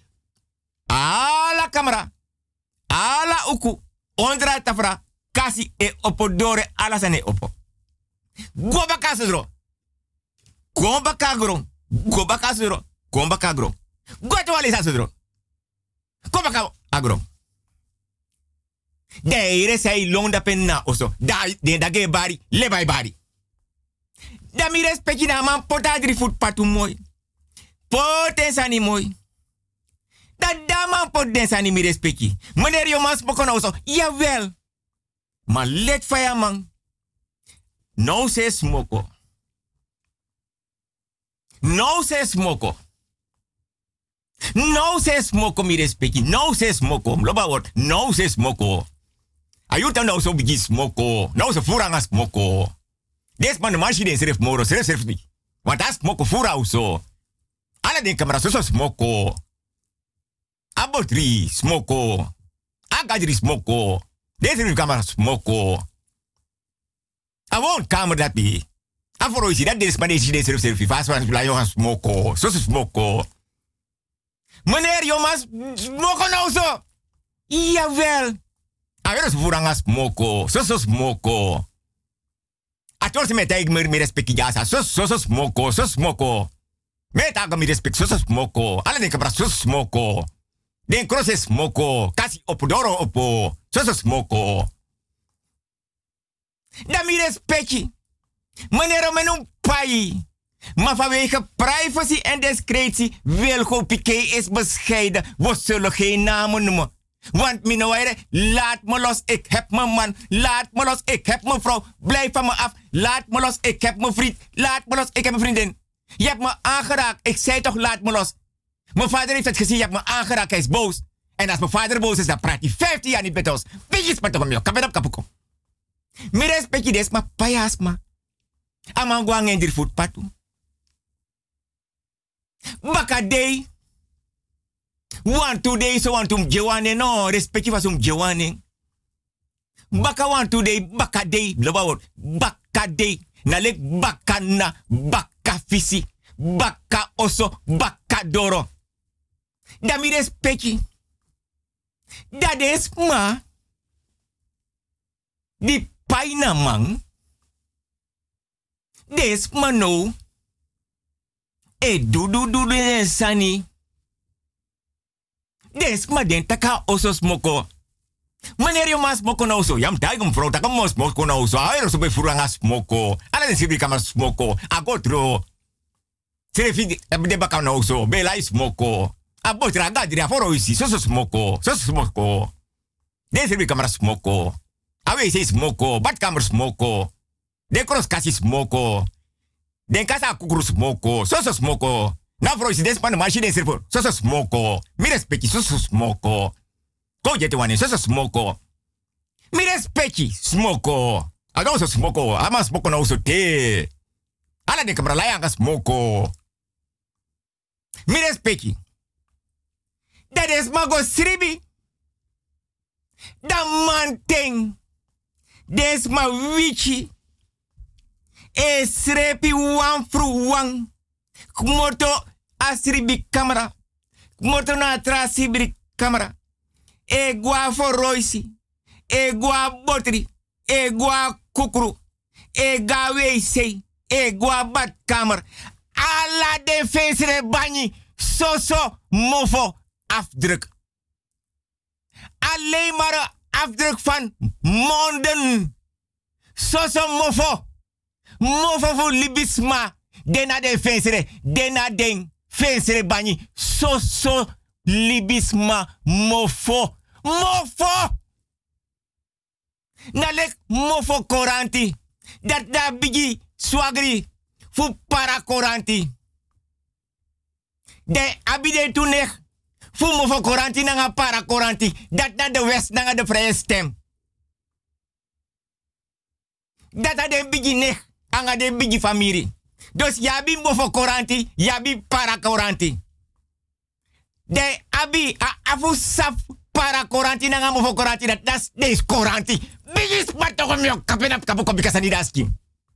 Ala camera. Ala uku. Ondra tafra. Kasi e opodore ala sane opo. Goba kasodro. Goba kagrong. Goba kasodro. Goba kagrong. Goto wale sasodro. Goba ka agrong. De ire sei londa penna oso. Da de dage bari le bai bari. Da mi respecti na man pota drie voet patu mooi. Poten sani mooi. Da da man pot den sani mi respecti. Meneer Jomas Bokono oso. Jawel. Maar let van je man. Nou se smoko. Nou se smoko. Nou se smoko mi respecti. Nou se smoko. Loba word. Nou se smoko. Ayuta nou so bigi smoko. Nou se furanga smoko. Des man de machine serif moro. Serif serif ni. Want as smoko fura uso. Ala den camera so so smoko. Abotri smoko. Agadri smoko. Des serif camera smoko. I won't kamer dat be. Aforo isi dat des man des des serif serif. Fast one la yo smoko. So so smoko. Meneer Jomas, smoko nou zo. Jawel. Aweer zo voeranga smoko. Zo zo smoko. Ator se me taig me me respecti jasa. Zo zo zo smoko. Zo smoko. Me taga me respect. Zo zo smoko. Alle den kabra zo smoko. Den cross is smoko. Kasi opodoro opo. Zo zo smoko. Da me respecti. Meneer menum pai. Maar vanwege privacy en discretie wil go Piqué is bescheiden. We zullen geen namen noemen. Want minouire, laat me los, ik heb mijn man. Laat me los, ik heb mijn vrouw. Blijf van me af. Laat me los, ik heb mijn vriend. Laat me los, ik heb mijn vriendin. Je hebt me aangeraakt. Ik zei toch, laat me los. Mijn vader heeft het gezien, je hebt me aangeraakt. Hij is boos. En als mijn vader boos is, dan praat hij vijftien jaar niet met ons. Weet je, spat toch om kapet op kapuko. Mijn respectje des, maar payas ma. Amang guang en dir voetpatu. Bakadei. One today so one tum jewane no respecti was um jewane. Baka one today bakadei blabawor bakadei nalek bakana bakafisi baka oso bakadoro. Da mi respecti. Da des ma di paina man. Des ma no. E du du du de sani. Des ma den taka oso smoko. Meneer je mas smoko nou zo. Jam taigum vrouw taka mo smoko nou zo. Aero so be furanga smoko. Ala den sibri kama smoko. Agotro. Serefi de baka nou zo. Be lai smoko. Abotra gadri aforo isi. So so smoko. So so smoko. Den sibri kama smoko. Awe se smoko. Bat kamer smoko. Den cross kasi smoko. Den kasa kukuru smoko. So so smoko. Na vrouw is des pan machine servo. So so smoko. Mi respecti so so smoko. Ko jete wane so so smoko. Mi respecti smoko. Aga so smoko. Ama smoko na uso te. Ala de kamera laya nga smoko. Mi respecti. Dat is mago sribi. Da manteng. Des ma wichi. E srepi wan fru wan. Kmoto asribi camera. Kmoto na trasibri camera. E gua foroisi. E gua botri. E gua kukru. E ga wc. E gua badkamer. Alla de feesre banyi. Soso mofo afdruk. Alleen maar een afdruk van monden. Soso mofo. Mofo voor libisma. Dena de feesre. Dena den feesre banyi. Soso libisma mofo. Mofo. Nalek mofo koranti. Dat da bigi swagri. Fu para koranti. De abide tuneg. Fu mofo koranti nanga para koranti. Dat na de west nanga de vrije stem. Dat na de bigi neg. Anga de bigi famiri. Dus yabi mofo koranti. Yabi para koranti. De abi a afu saf para koranti nanga mofo koranti. Dat das des koranti. Bigi sparto komyo kapenap kapuko bikasani daski.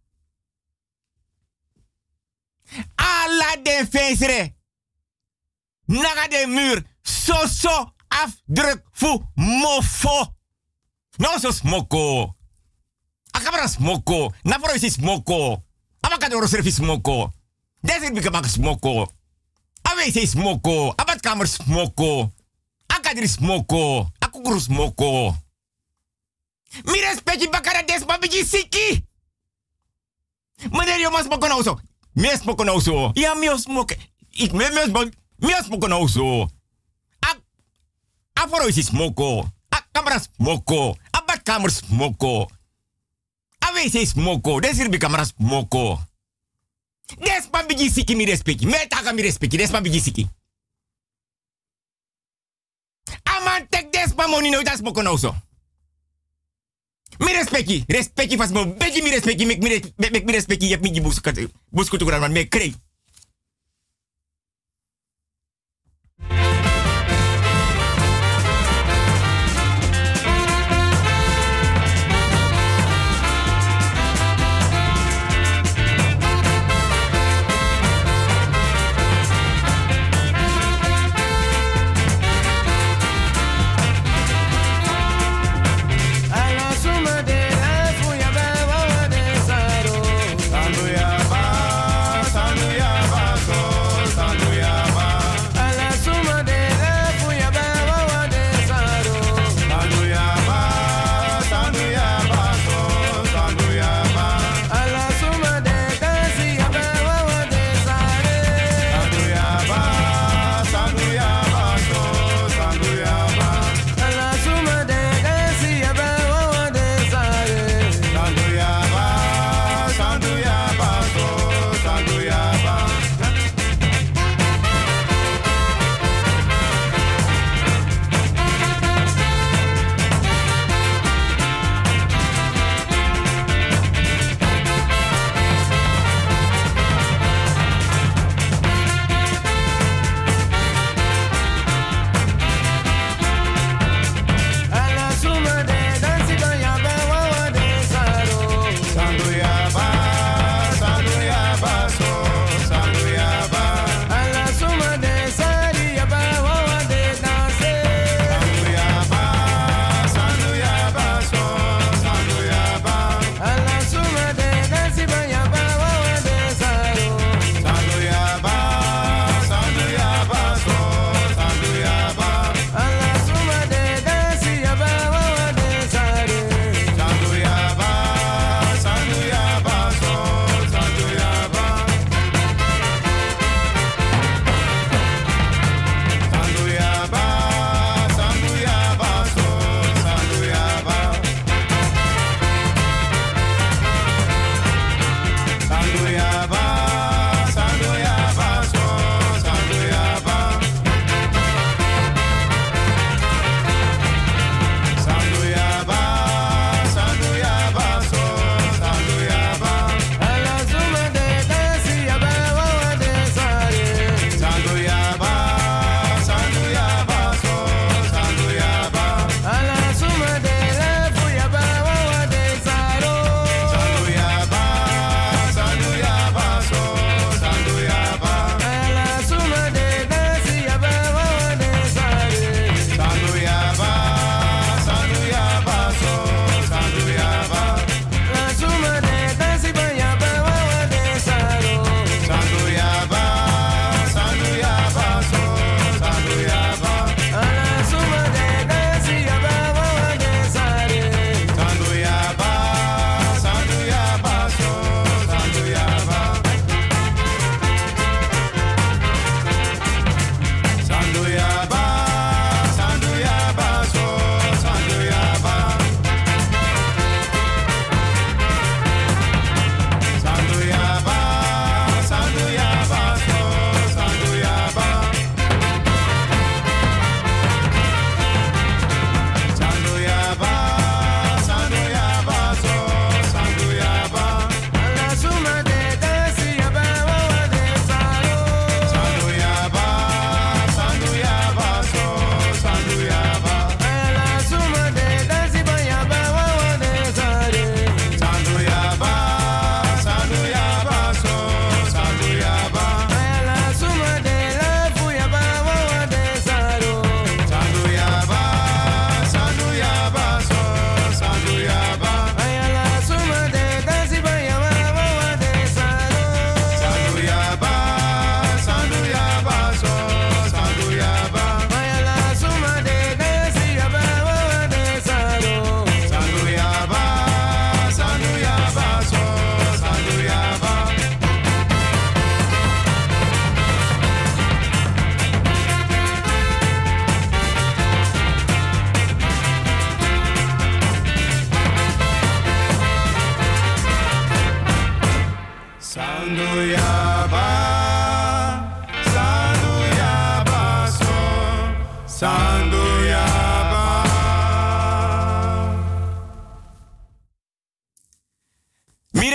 Alla de feesre. Naga de muur. So so afdruk fu mofo. No so smoko. Akabra smoko. Naforo is smoko. Abakadoro servis smoko. Deze bikamak smoko. Awe is smoko. Abadkamer smoko. Akadri smoko. Akukuru smoko. Mi respecti bakara des babiji siki. Meneer Jomas smoko nou zo. Mi smoko nou zo. Ja, mi smoko. Ik me me smoko. Mi smoko nou zo. Aforo is smoko. Akabra smoko. kamer smoko. Awe se smoko. Des hier kamera smoko. Des pa bigi siki mi respecti. Me taka mi respecti. Des pa bigi siki. Aman tek des pa moni no das smoko no so. Mi respecti. Respecti fas mo. Begi mi respecti. Mek mi mek mi respecti. Yep mi busku busku tu kuran man me krei. Sanduya ba, sanduya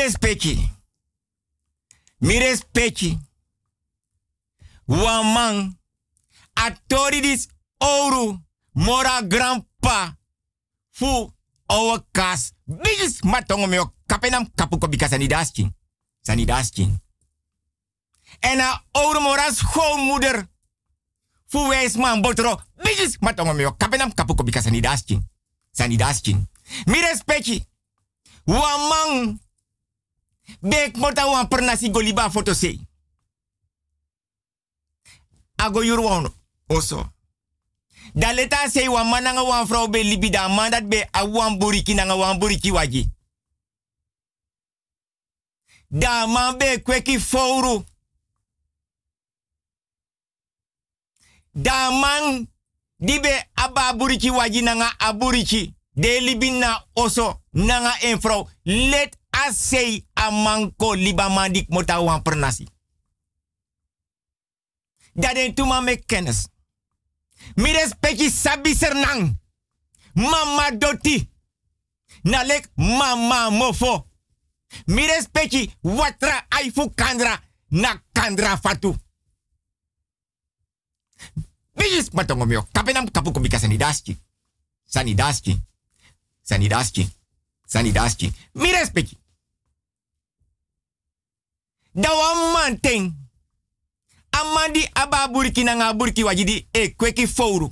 respecti. Mi respecti. Wan man. Atori dis ouro. Mora grandpa. Fu owa kas. Bigis matongo meo kapenam kapuko bika sanidaski. Sanidaski. En a ouro mora schoonmoeder. Fu wijs man botro. Bigis matongo meo kapenam kapuko bika sanidaski. Sanidaski. Mi respecti. Wan man. Bek mota wan pernasi goliba foto se. Ago yurwan oso. Da leta say wan man nga wan vrouw be libi da man dat be a wan buriki nga wan buriki waji. Da man be kweki fouru. Da man di be aba buriki waji nga a buriki. De libi na oso nga en vrouw. Let as say a manko liba mandik mota wan pernasi. Da den tuma me kennis. Mi respecti sabi sernang. Mama doti. Nalek mama mofo. Mi respecti watra aifu kandra. Na kandra fatu. Bijis matongo mio. Kapenam kapuko bika sanidaski. Sanidaski. Sanidaski. Sanidaski. Mi respecti. Da wan man ting. Amandi aba buriki na nga buriki wajidi e kweki fouru.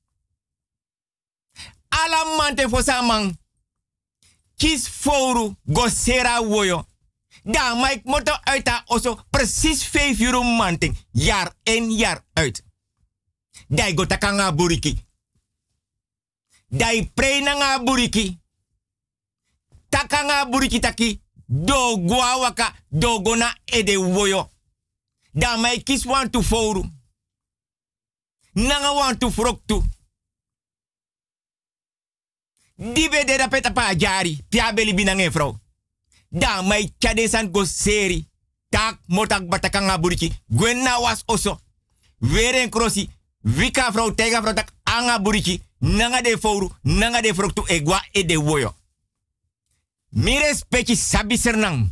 Ala mante fosa man. Kis fouru go sera woyo. Da Mike moto uit oso precies vijf euro manting. Jaar in jaar uit. Dai go taka nga buriki. Dai pre na nga buriki. Taka nga buriki taki. Do gwa waka do gona ede woyo. Da mai kis want to foru. Nanga want to froktu. Dibe de da peta pa jari. Pia beli binange vrouw. Da mai chadesan go seri. Tak motak batakanga buriki. Gwenna was oso. Weren krosi. Vika vrouw tega vrouw tak anga buriki. Nanga de foru. Nanga de froktu egwa e de woyo. Mi respecti sabi sernang.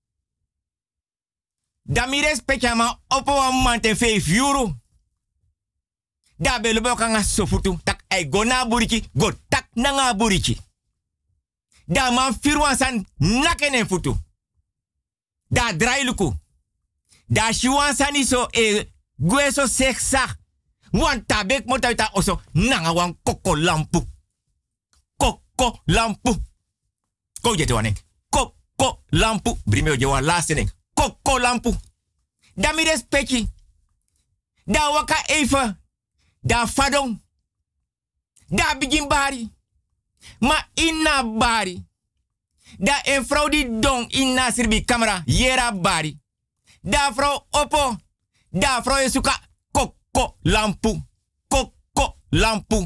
Da mi respecti ama opo wa mante vijf euro. Da belo boka nga sofutu. Tak ay go na buriki. Go tak na nga buriki. Da man firwan san nakenen futu. Da drailuku. Da shiwan san iso e gweso seksa. Wan tabek motauta oso. Nanga wan koko lampu. Koko lampu. Ko jete wanek. Koko lampu. Brimeo jewa laatste nek. Koko lampu. Da mi respecti. Da waka even. Da fadong. Da begin bari. Ma inna bari. Da en vrouw die dong inna sirbi camera. Yera bari. Da vrouw opo. Da vrouw suka koko lampu. Koko lampu.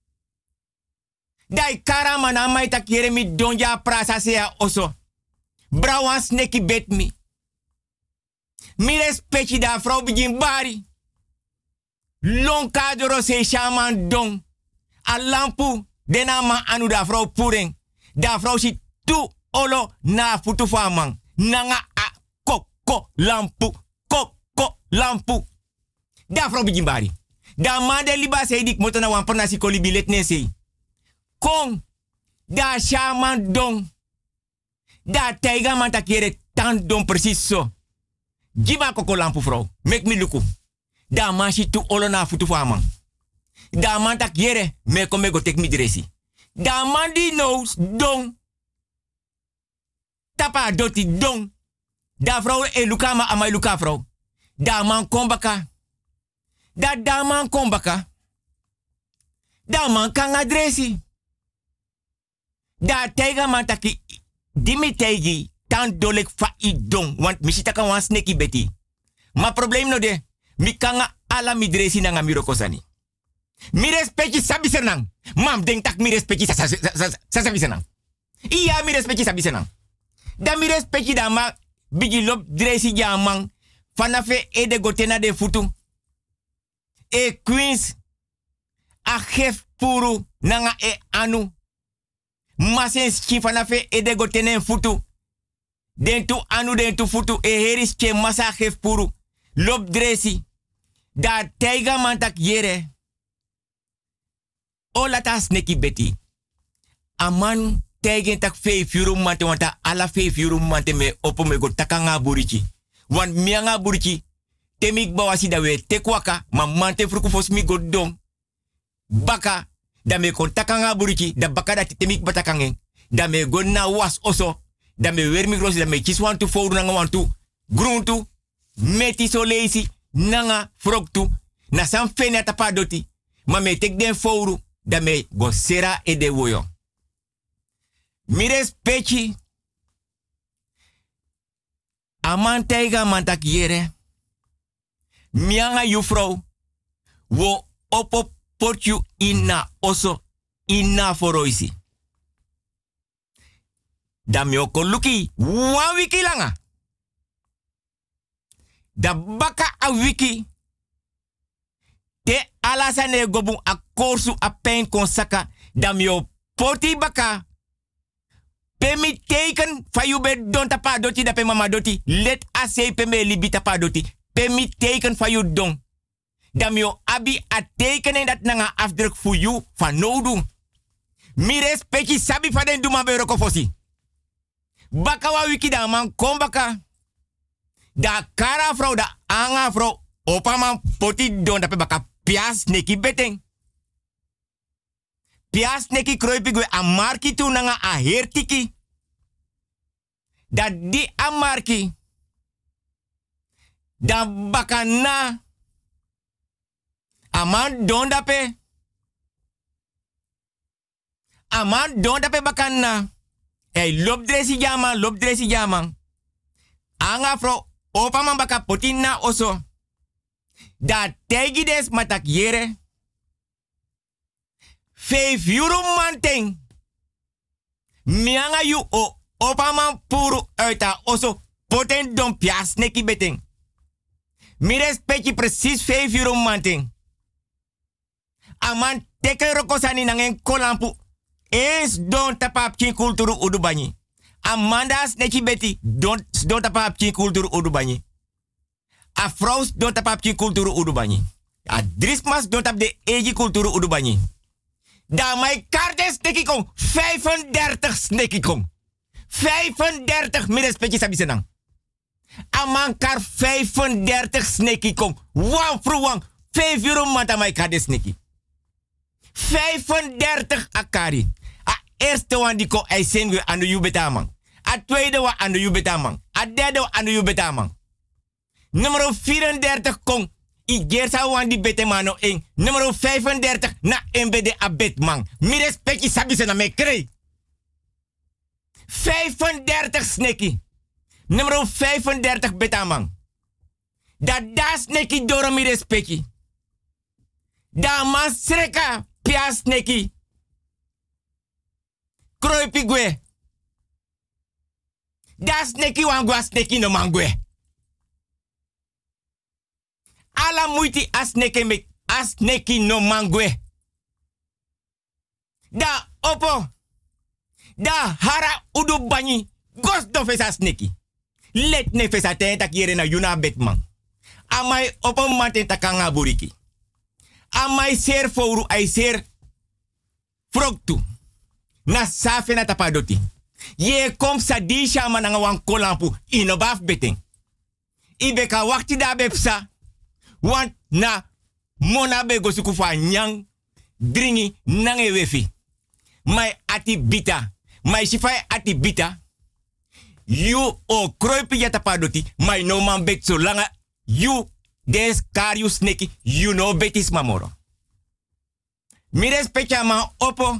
Dai karama na mai tak yere mi donja prasa sea oso. Brawan sneki bet mi. Mi respecti da vrouw begin bari. Long kadro se shaman dong. A lampu dena ma anu da vrouw puring. Da vrouw si tu olo na futu faman. Nanga a koko lampu. Koko lampu. Da vrouw begin bari. Da man de liba se dik motona wan pernasi kolibi let ne sei. Kong. Da shaman dong. Da taiga man takere tan don precies so. Giba koko lampu vrouw. Mek mi luku. Da man si tu olo na futu faman. Da man tak yere me ko me go tek mi dresi. Da man di knows dong. Tapa doti dong. Da vrouw e luka ma amai luka vrouw. Da man kombaka. Da da man kombaka. Da man kan adresi. Da tega man taki dimi tegi tan dolek fa i dong. Want misita kan wan sneki beti. Ma probleem no de. Mi kanga ala mi dresi na nga mi rokosani. Mi respecti sabi senang. Mam denk tak mi respecti sa sabi senang. Iya mi respecti sabi senang. Da mi respecti da ma bigi lop dresi jamang. Fanafe e de gotena de futu. E queens. A chef puru nanga e anu. Masen ski fanafe e de gotena futu. Den tu anu den tu futu e heris ke masa gef puru. Lop dresi. Da teiga mantak yere. O lata sneki beti. Aman teigen tak fe fiuru mante wanta ala fe fiuru mante me opo me go takanga burichi. Wan mianga burichi. Temik bawasi da we tekwaka ma mante fruku fosmi go dom. Baka da me kon takanga burichi da baka da temik batakangen. Da me go na was oso. Da me wermi grosi da me chiswantu fouru nanga wantu. Gruntu. Meti so leisi. Nanga froktu. Na san fene atapa doti. Ma me tek den fouru. Da me go sera e de woyo. Mires pechi. Aman teiga mantak yere. Mianga yufrou. Wo opo portju ina oso. Ina foroisi. Da mi oko luki. Wan wiki langa. Da baka a wiki. Te alasane gobu a korsu a pen konsaka. Da mi o poti baka. Pemi teken fa you be don tapa doti da pe mama doti. Let a say peme libi tapa doti. Pemi teken fa you don. Da mi o abi a tekenen dat nanga afdruk voor you van nodu. Mi respecti sabi fa den duma be rokofosi. Baka wa wiki da man kom baka. Da kara vrouw, da anga vrouw. Opa man poti don da pe baka pias neki beteng. Pias neki kroipi gwe a marki tu nanga a hertiki. Da di a marki. Da baka na. Aman don da pe. Aman don da pe baka na. Hey, lop dresi jaman, lop dresi jaman. Anga vrouw. Opa man baka potin na oso. Da tegi des matak yere. Vijf euro manteng. Mianga yu o opa man puru uit a oso. Poten don pias neki beteng. Mi respecti precies vijf euro manteng. Aman teke rokosani nangen kolampu. Eens don tapap kin kulturu udubani. Amandas neki beti don don tapap kin kulturu udubani. A vrouws don tapap kin kulturu udubani. A drismas don tap de egi kulturu udubani. Da mijn kartes neki kom vijfendertig neki kom. vijfendertig midden spetje sabisenang. Aman kar vijfendertig neki kom. Wan fruwang vijf euro mata mijn kartes neki. vijfendertig akari. A eerste wan die ko ay sengwe anu yu betamang. A tweede wan anu yu betamang. A derde wan anu yu betamang. Nummer vierendertig kom. I gersa wan di betemano eng. Nummer vijfendertig na M B D a betman. Mi respecti sabise na me krei. vijfendertig sneki. Nummer vijfendertig betamang. Da da sneki doro mi respecti. Da man sreka pia sneki. Kroipi gwe. Da sneki wan gwa sneki no mangwe. Ala muiti asneke mek asneki no mangwe. Da opo. Da hara udu banyi. Gos do fesa sneki. Let ne fesa ten tak yere na yuna betman. Amai opo mante takanga buriki. Amai ser fouru ay ser froktu. Na safe na tapadoti. Ye kom sa di shama nanga wan kolampu. Inobaf beteng. Ibeka wakti da bepsa. Want na mona be gosuku fa nyang dringi nange wefi. Mai ati bita. Mai sifai ati bita. You o kroipi yata padoti. Mai no man bet so langa. You des kariu sneki. You no betis mamoro. Mi respecta ma opo.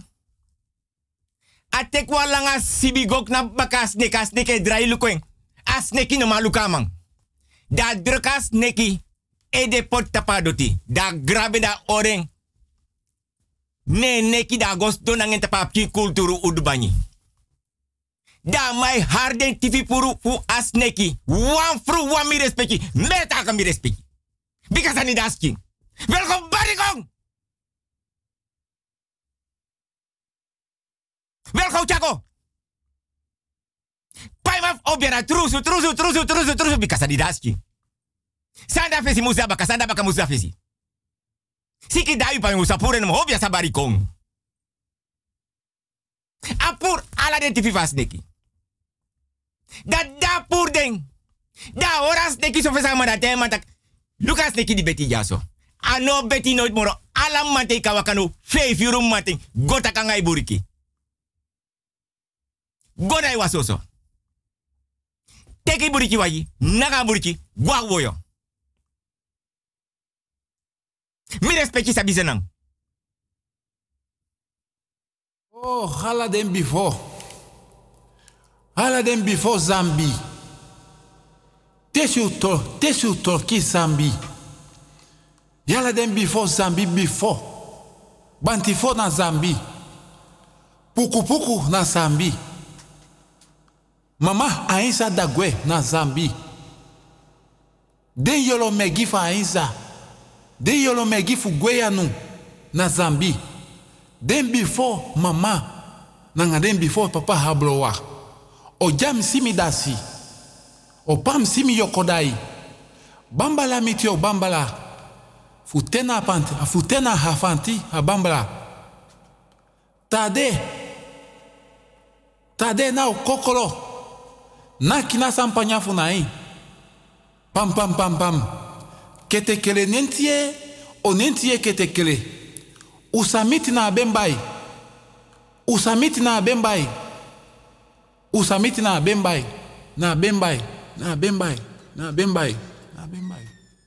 Atekwa langa sibigok na baka sneka sneke drai lukweng. A sneki no malukamang. Da druka sneki. E de pot tapadoti. Da grabe da oreng. Ne neki da gosto nangen tapap ki kulturu udubani. Da mai harden tifi puru fu as neki. Wan fru wan mi respecti. Meta ka mi respecti. Because ani dasking. Welkom barikong. Welkom chako. Paimaf obiara trusu, trusu, trusu, trusu, trusu, bikasa di daski. Sanda fesi musa baka, sanda baka musa fesi. Siki dayu pa musa pure no obia sabari kong. Apur ala den tifi vas neki. Da da pur den. Da oras neki so fesa ma da tema tak. Lucas neki di beti jaso. Ano beti nooit moro. Alam mate kawakano. Vijf uur mate. Gota kangai buriki. Goda i wasoso. Teki buriki waji. Naga buriki. Gwa woyo. Mi respecti sabi zenang. Oh, hala den before. Hala den before Zambi. Tesu to, tesu torki Zambi. Yala den before Zambi before. Bantifo na Zambi. Puku puku na Zambi. Mama Ainsa dagwe na Zambi. Den yolo megi fa Ainsa. Den yolo megi fu gweyanu na Zambi. Den before mama. Nanga den before papa hablowa. O jam simi dasi. O pam simi yokodai. Bambala mitio bambala. Futena panti, futena hafanti a bambala. Tade. Tade na o kokolo. Na kina sampanya funai. Pam pam pam pam. Kete kele nentie o nentie kete kele. Usamiti na bembai. Usamiti na bembai. Usamiti na bembai. Na bembai. Na bembai. Na bembai. Na bembai.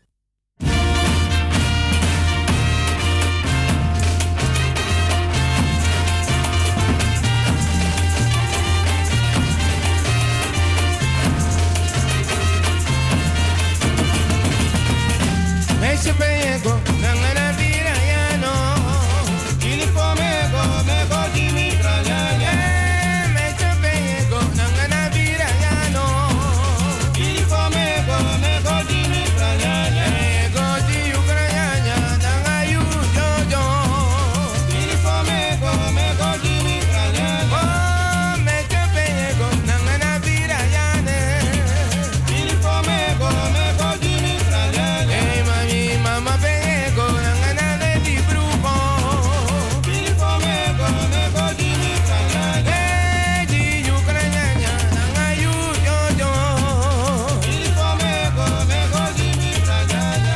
Mexe pego, nangana vira ya no. Il pomego, mego di mi traglia. Mexe pego, nangana vira ya no. Il pomego, mego di mi traglia. Mego di Ucrania, nanga yu yo yo. Il pomego, mego di mi traglia. Oh, mexe pego, nangana vira ya ne. Il pomego, mego di mi traglia. Mama pego, nangana de di bruco. Il pomego, mego di mi traglia. Di Ucrania, nanga yu yo yo. Il pomego, mego di mi traglia.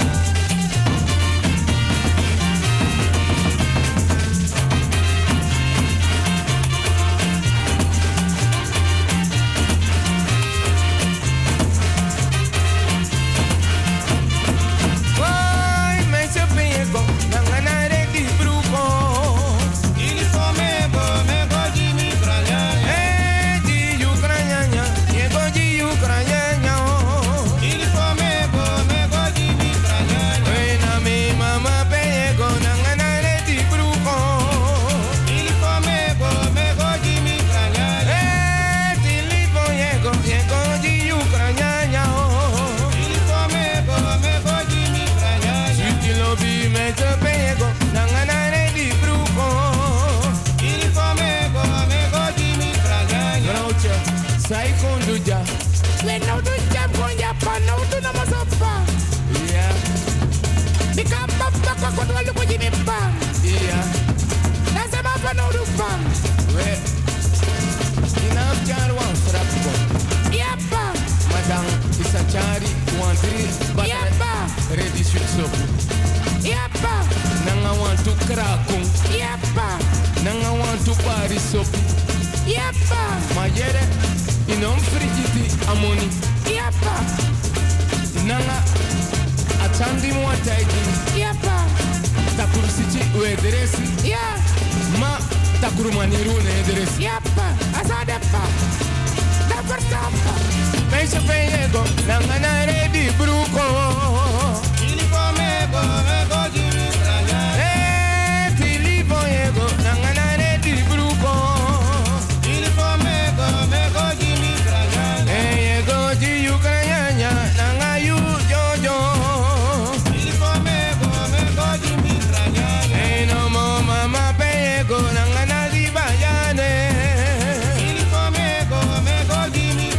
Oi, mexe pego, nangana de di bruco. Il pomego, mego di mi traglia. Di Ucrania, mego di Ucrania. Il pomego, mego di mi traglia. Oi, na mi mama pego, nangana de di bruco. Il pomego, mego di mi traglia. Di li pomego, mego di Ucrania. Il pomego, mego di mi traglia. Tutti lo vi metto pego, nangana di bruco. Il pomego, mego di mi traglia. Groucho, sai con già. Le no do jam con ya pa no do na masapa. Yeah. Di campa pa pa con lo ko jimi pa. Yeah. Na se ma pa no do pa. We. Ina jar wan frapo. Yeah pa. Madam isachari wan tri ba. Yeah pa. Ready switch soap. Yapa, nanga want to krakung. Yapa, nanga want to pari soap. Yapa, mayere inom frigiti amoni. Yapa, nanga atandi mo ataidi. Yapa, takuru sichi uederesi. Yeah, ma takuru maniru ne ederesi. Yapa, asadepa, dapertapa. Meisje pego, nanga na ready bruco. Il pomego, mego di mi traglia. Eh, ti pomego, nangana de di bruco. Il pomego, mego di mi traglia. Eh, ego di Ucrania, nanga yu yo yo. Il pomego, mego di mi traglia. Eh, no mo mama pego, nangana di bayane. Il pomego, mego di mi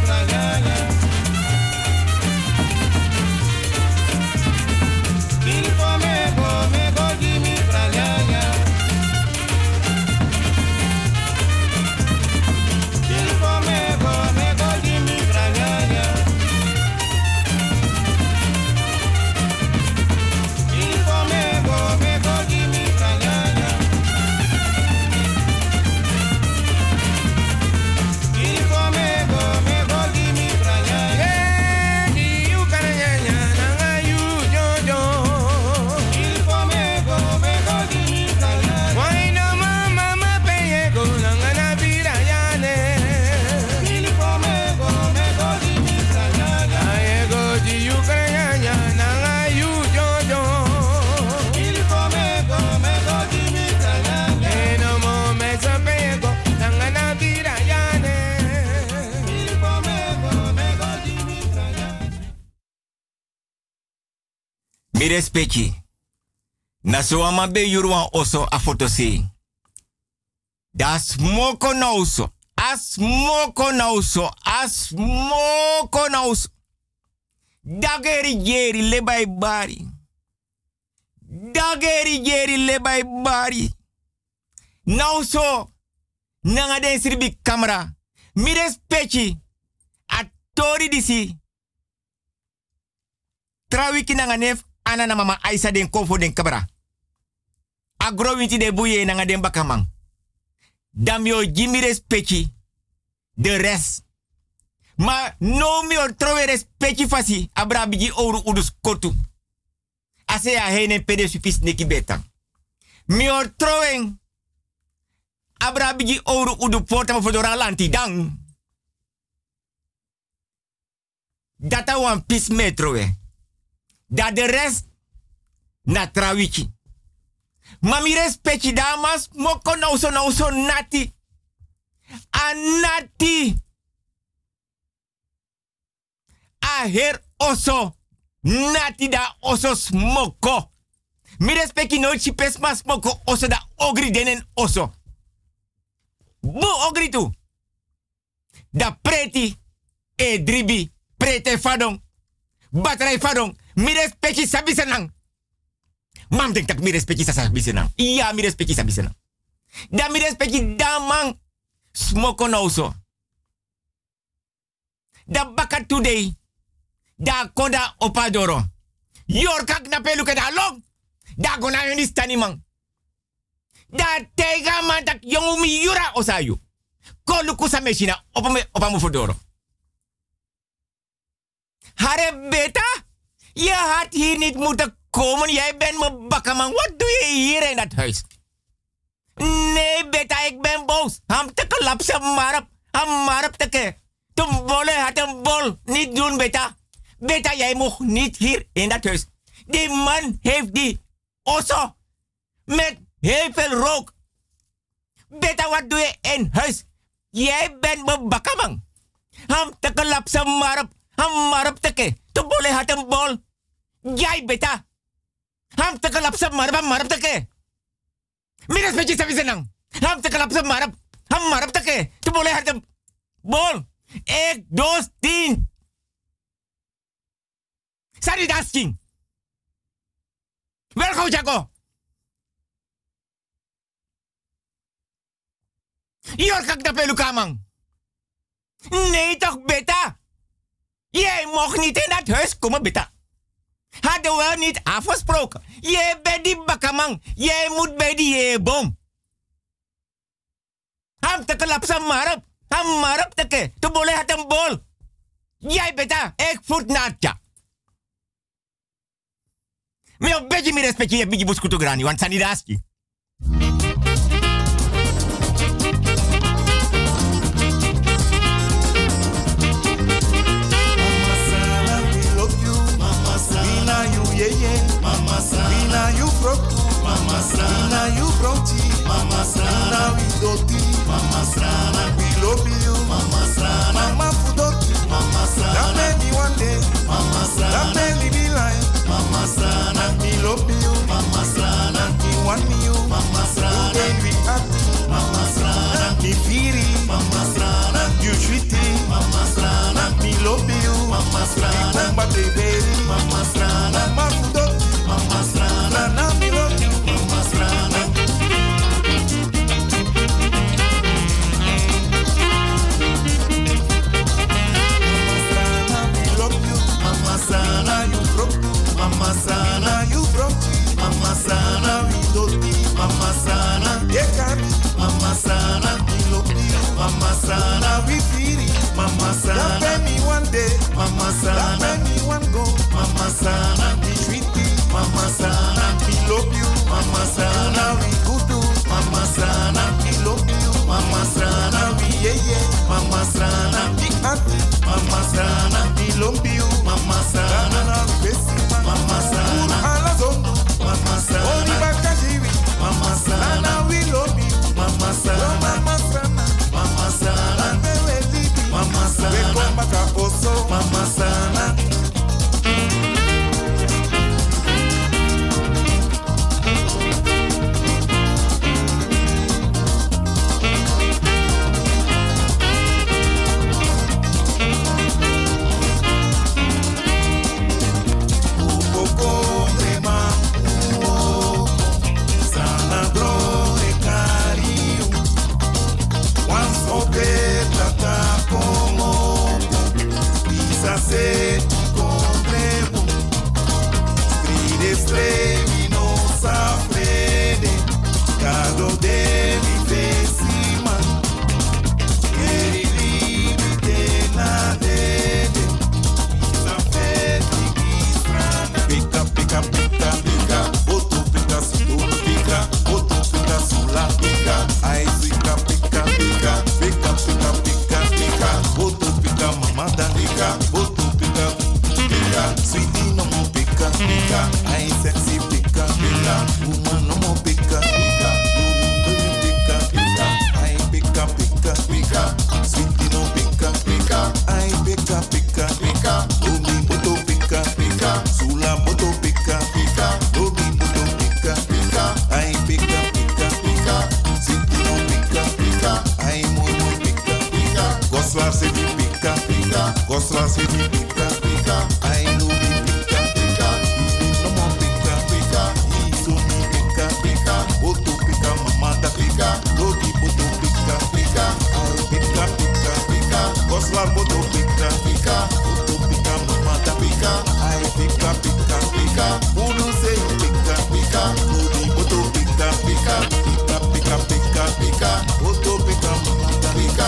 Mi respecti. Na so ama be yuruan oso a foto se. Da smoko na oso. A smoko na oso. A smoko na oso. Dageri jeri lebay bari. Dageri jeri lebay bari. Nou so. Nanga den sirbi camera. Mi respecti. A tori disi. Trawiki nanga nef. Ana na mama Aisa den kofo den kabra. Agro winti de buye nanga den bakamang. Dam yo jimi respecti. De rest. Ma no mi or trove respecti fasi. Abra bigi oru udus kotu. Ase ya heine pede supis neki betang. Mi or trowing. Abra bigi oru udu porta mafodora lanti dang. Data wan pis metrowe. Da de rest na trawiki. Mami respecti damas moko na uso na uso nati. A nati. A her oso. Nati da oso smoko. Mi respecti no chipes mas smoko oso da ogri denen oso. Bu ogri tu. Da preti e dribi. Prete fadong. Batrai fadong. Mi respecti sabi senang. Mam denk tak mi respecti sabi senang. Iya mi respecti sabi senang. Da mi respecti damang. Smoko no so. Da bakat today. Da koda opadoro. Yor kak na pelu ke da long. Da gona yoni stani mang. Da tega man tak yongu mi yura osayu. Kolu kusa meshina opame opamu fodoro. Hare beta? Je had hier niet moeten komen. Jij bent me bakkerman. Wat doe je hier in dat huis? Nee, beta, ik ben boos. Ham te klapsen, marap. Ham marap teke. Toen bolle had een bol. Niet doen, beta. Beta, jij mag niet hier in dat huis. Die man heeft die osso. Met heel veel rook. Beta, wat doe je in huis? Jij bent me bakkerman. Ham te klapsen, marap. Ham marap teke. Toen bolle had een bol. Jij beta. Ham te klapsen, marap. Ham marap teke. Mira specie sabi senang. Ham te klapsen, marap. Ham marap teke. Toen bolle had een bol. Ek dos tien. Sari dasking. Welkom, Jaco. Yor kak na pelu kamang. Nee toch, beta. Jij mocht niet in dat huis komen, beta. Hadden we niet afgesproken. Jij bent die bakkamang. Jij moet bij die jeboom. Ham te klapsen marap. Ham marap teke. Tu boleh had een bol. Jij beta. Ik voet natja. Me op beetje meer respectje je bigi buskutu grani. Want sani daski. Yeah, yeah. Mama Sana. Ina you broke. Mama Sana. Ina you broke. Mama Sana. Ina we doti. Mama Sana. We love you. Mama Sana. Mama Fudoti. Mama Sana. That made me one day. Mama Sana. That made me be like. Mama Sana. We love you. Mama Sana. We want you. Mama Sana. Today we happy. Mama Sana. Me firi. Mama Sana. You treaty. Mama Sana. We love you. Mama Sana. Mama baby. Mama Sana. Mama Fudoti. Mama Sana. Sana me love you. Mama Sana. Mama Sana, you broke. Mama Sana, you broke. Mama Sana, we don't Mama Sana, yeah, got Mama Sana, we love you. Mama Sana, we feel it. Mama Sana, that me one day. Mama Sana, that me one go. Mama Sana, we treat it. Mama Sana, we love you. Mama Sana, we good do. Mama Sana, we love you. Mama Sana, we yeah yeah. Mama Sana, we happy. Mama Sana, we love you. Mama Sana, Mama Sana, Alazondo. Mama Sana, Oni Bakashiri. Mama Sana, we love you. Mama Sana, Mama Sana, Mama Sana, Mama Sana, Mama Sana, Mama Sana. Gosla se mi pika pika, I know mi pika pika, no mo pika pika, I so mi pika pika, boto pika mama da pika, dogi boto pika pika, I pika pika pika, Gosla boto pika pika, boto pika mama da pika, I pika pika pika, unu se pika pika, dogi boto pika pika, pika pika pika pika, boto pika mama da pika.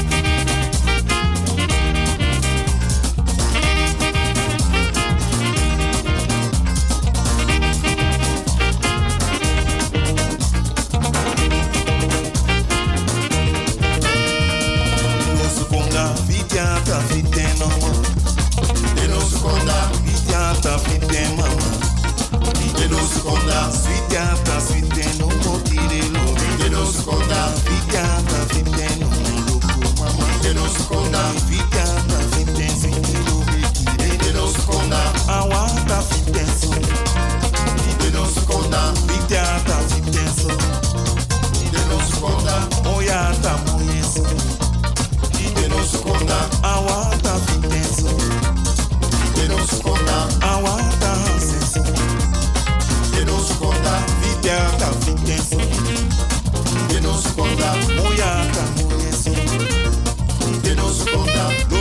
Vitiata fite mama, de no seconda. Vitiata fite mama, de no seconda. Vitiata fite no motire lo, de no seconda. Vitiata fite no loco mama, de no seconda. Vitiata fite fite lo bekire, de no seconda. Awata fite so, de no seconda. Vitiata fite so, de no seconda. Oyata moyeso. De no seconda, awata fitenso. De no seconda, awata hanseso. De no seconda, vitiata fitenso. De no seconda, moyata moyeso. De no seconda,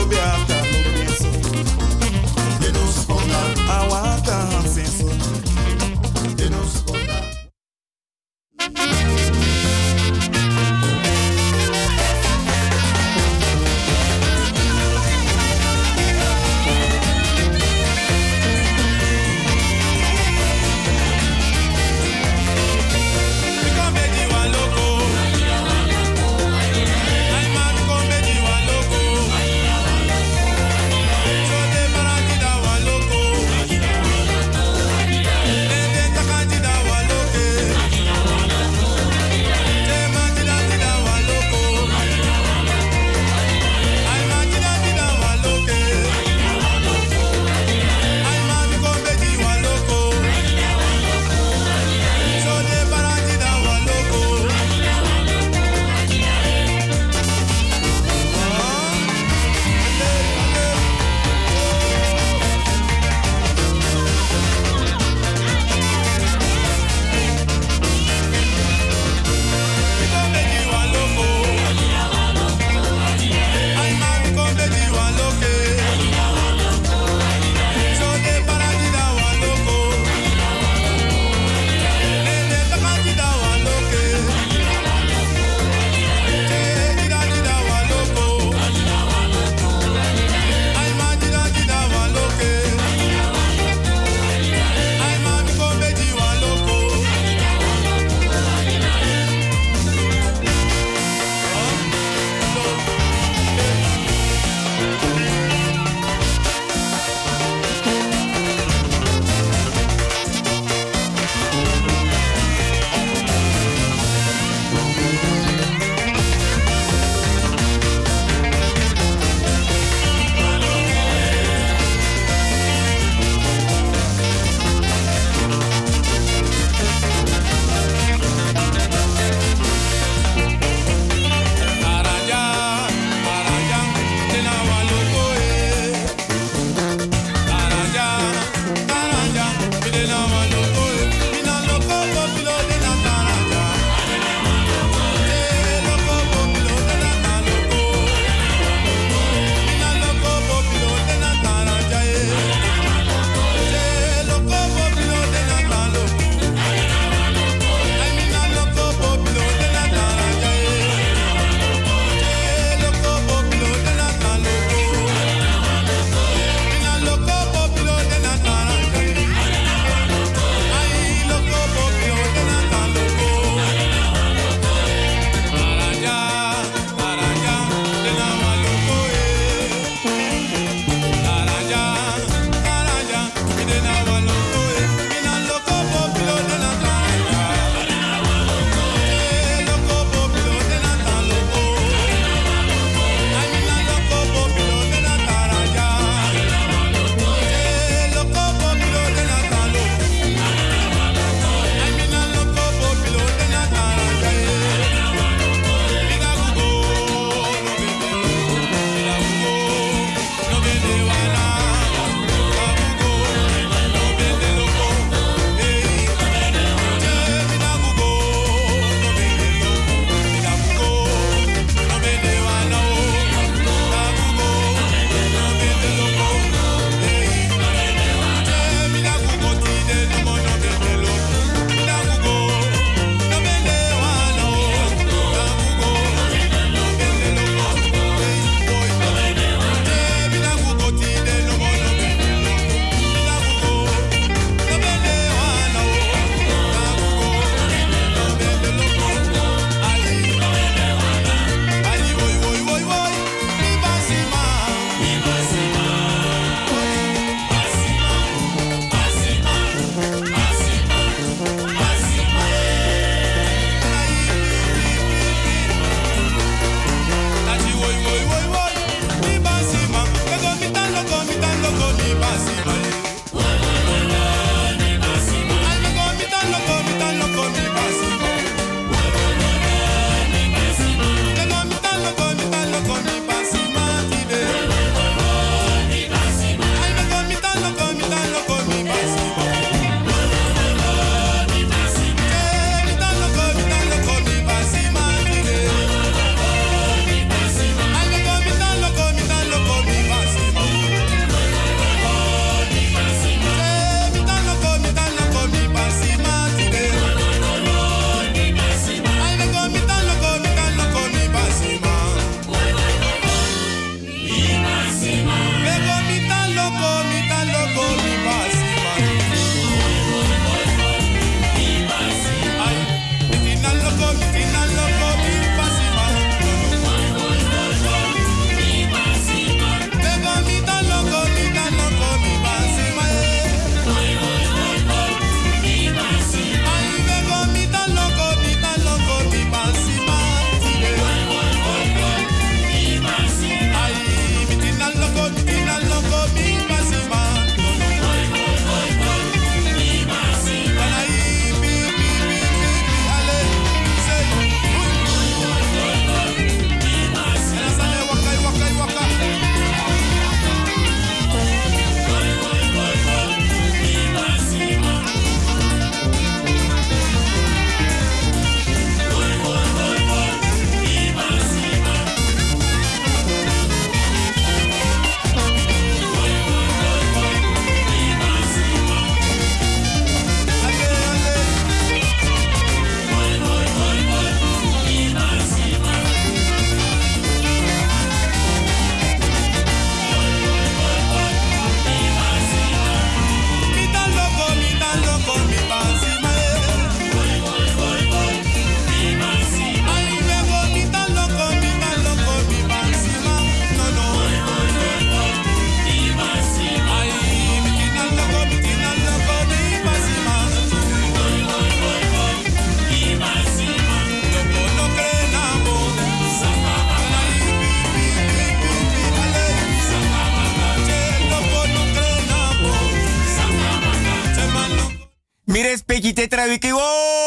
wiki tetra wiki wo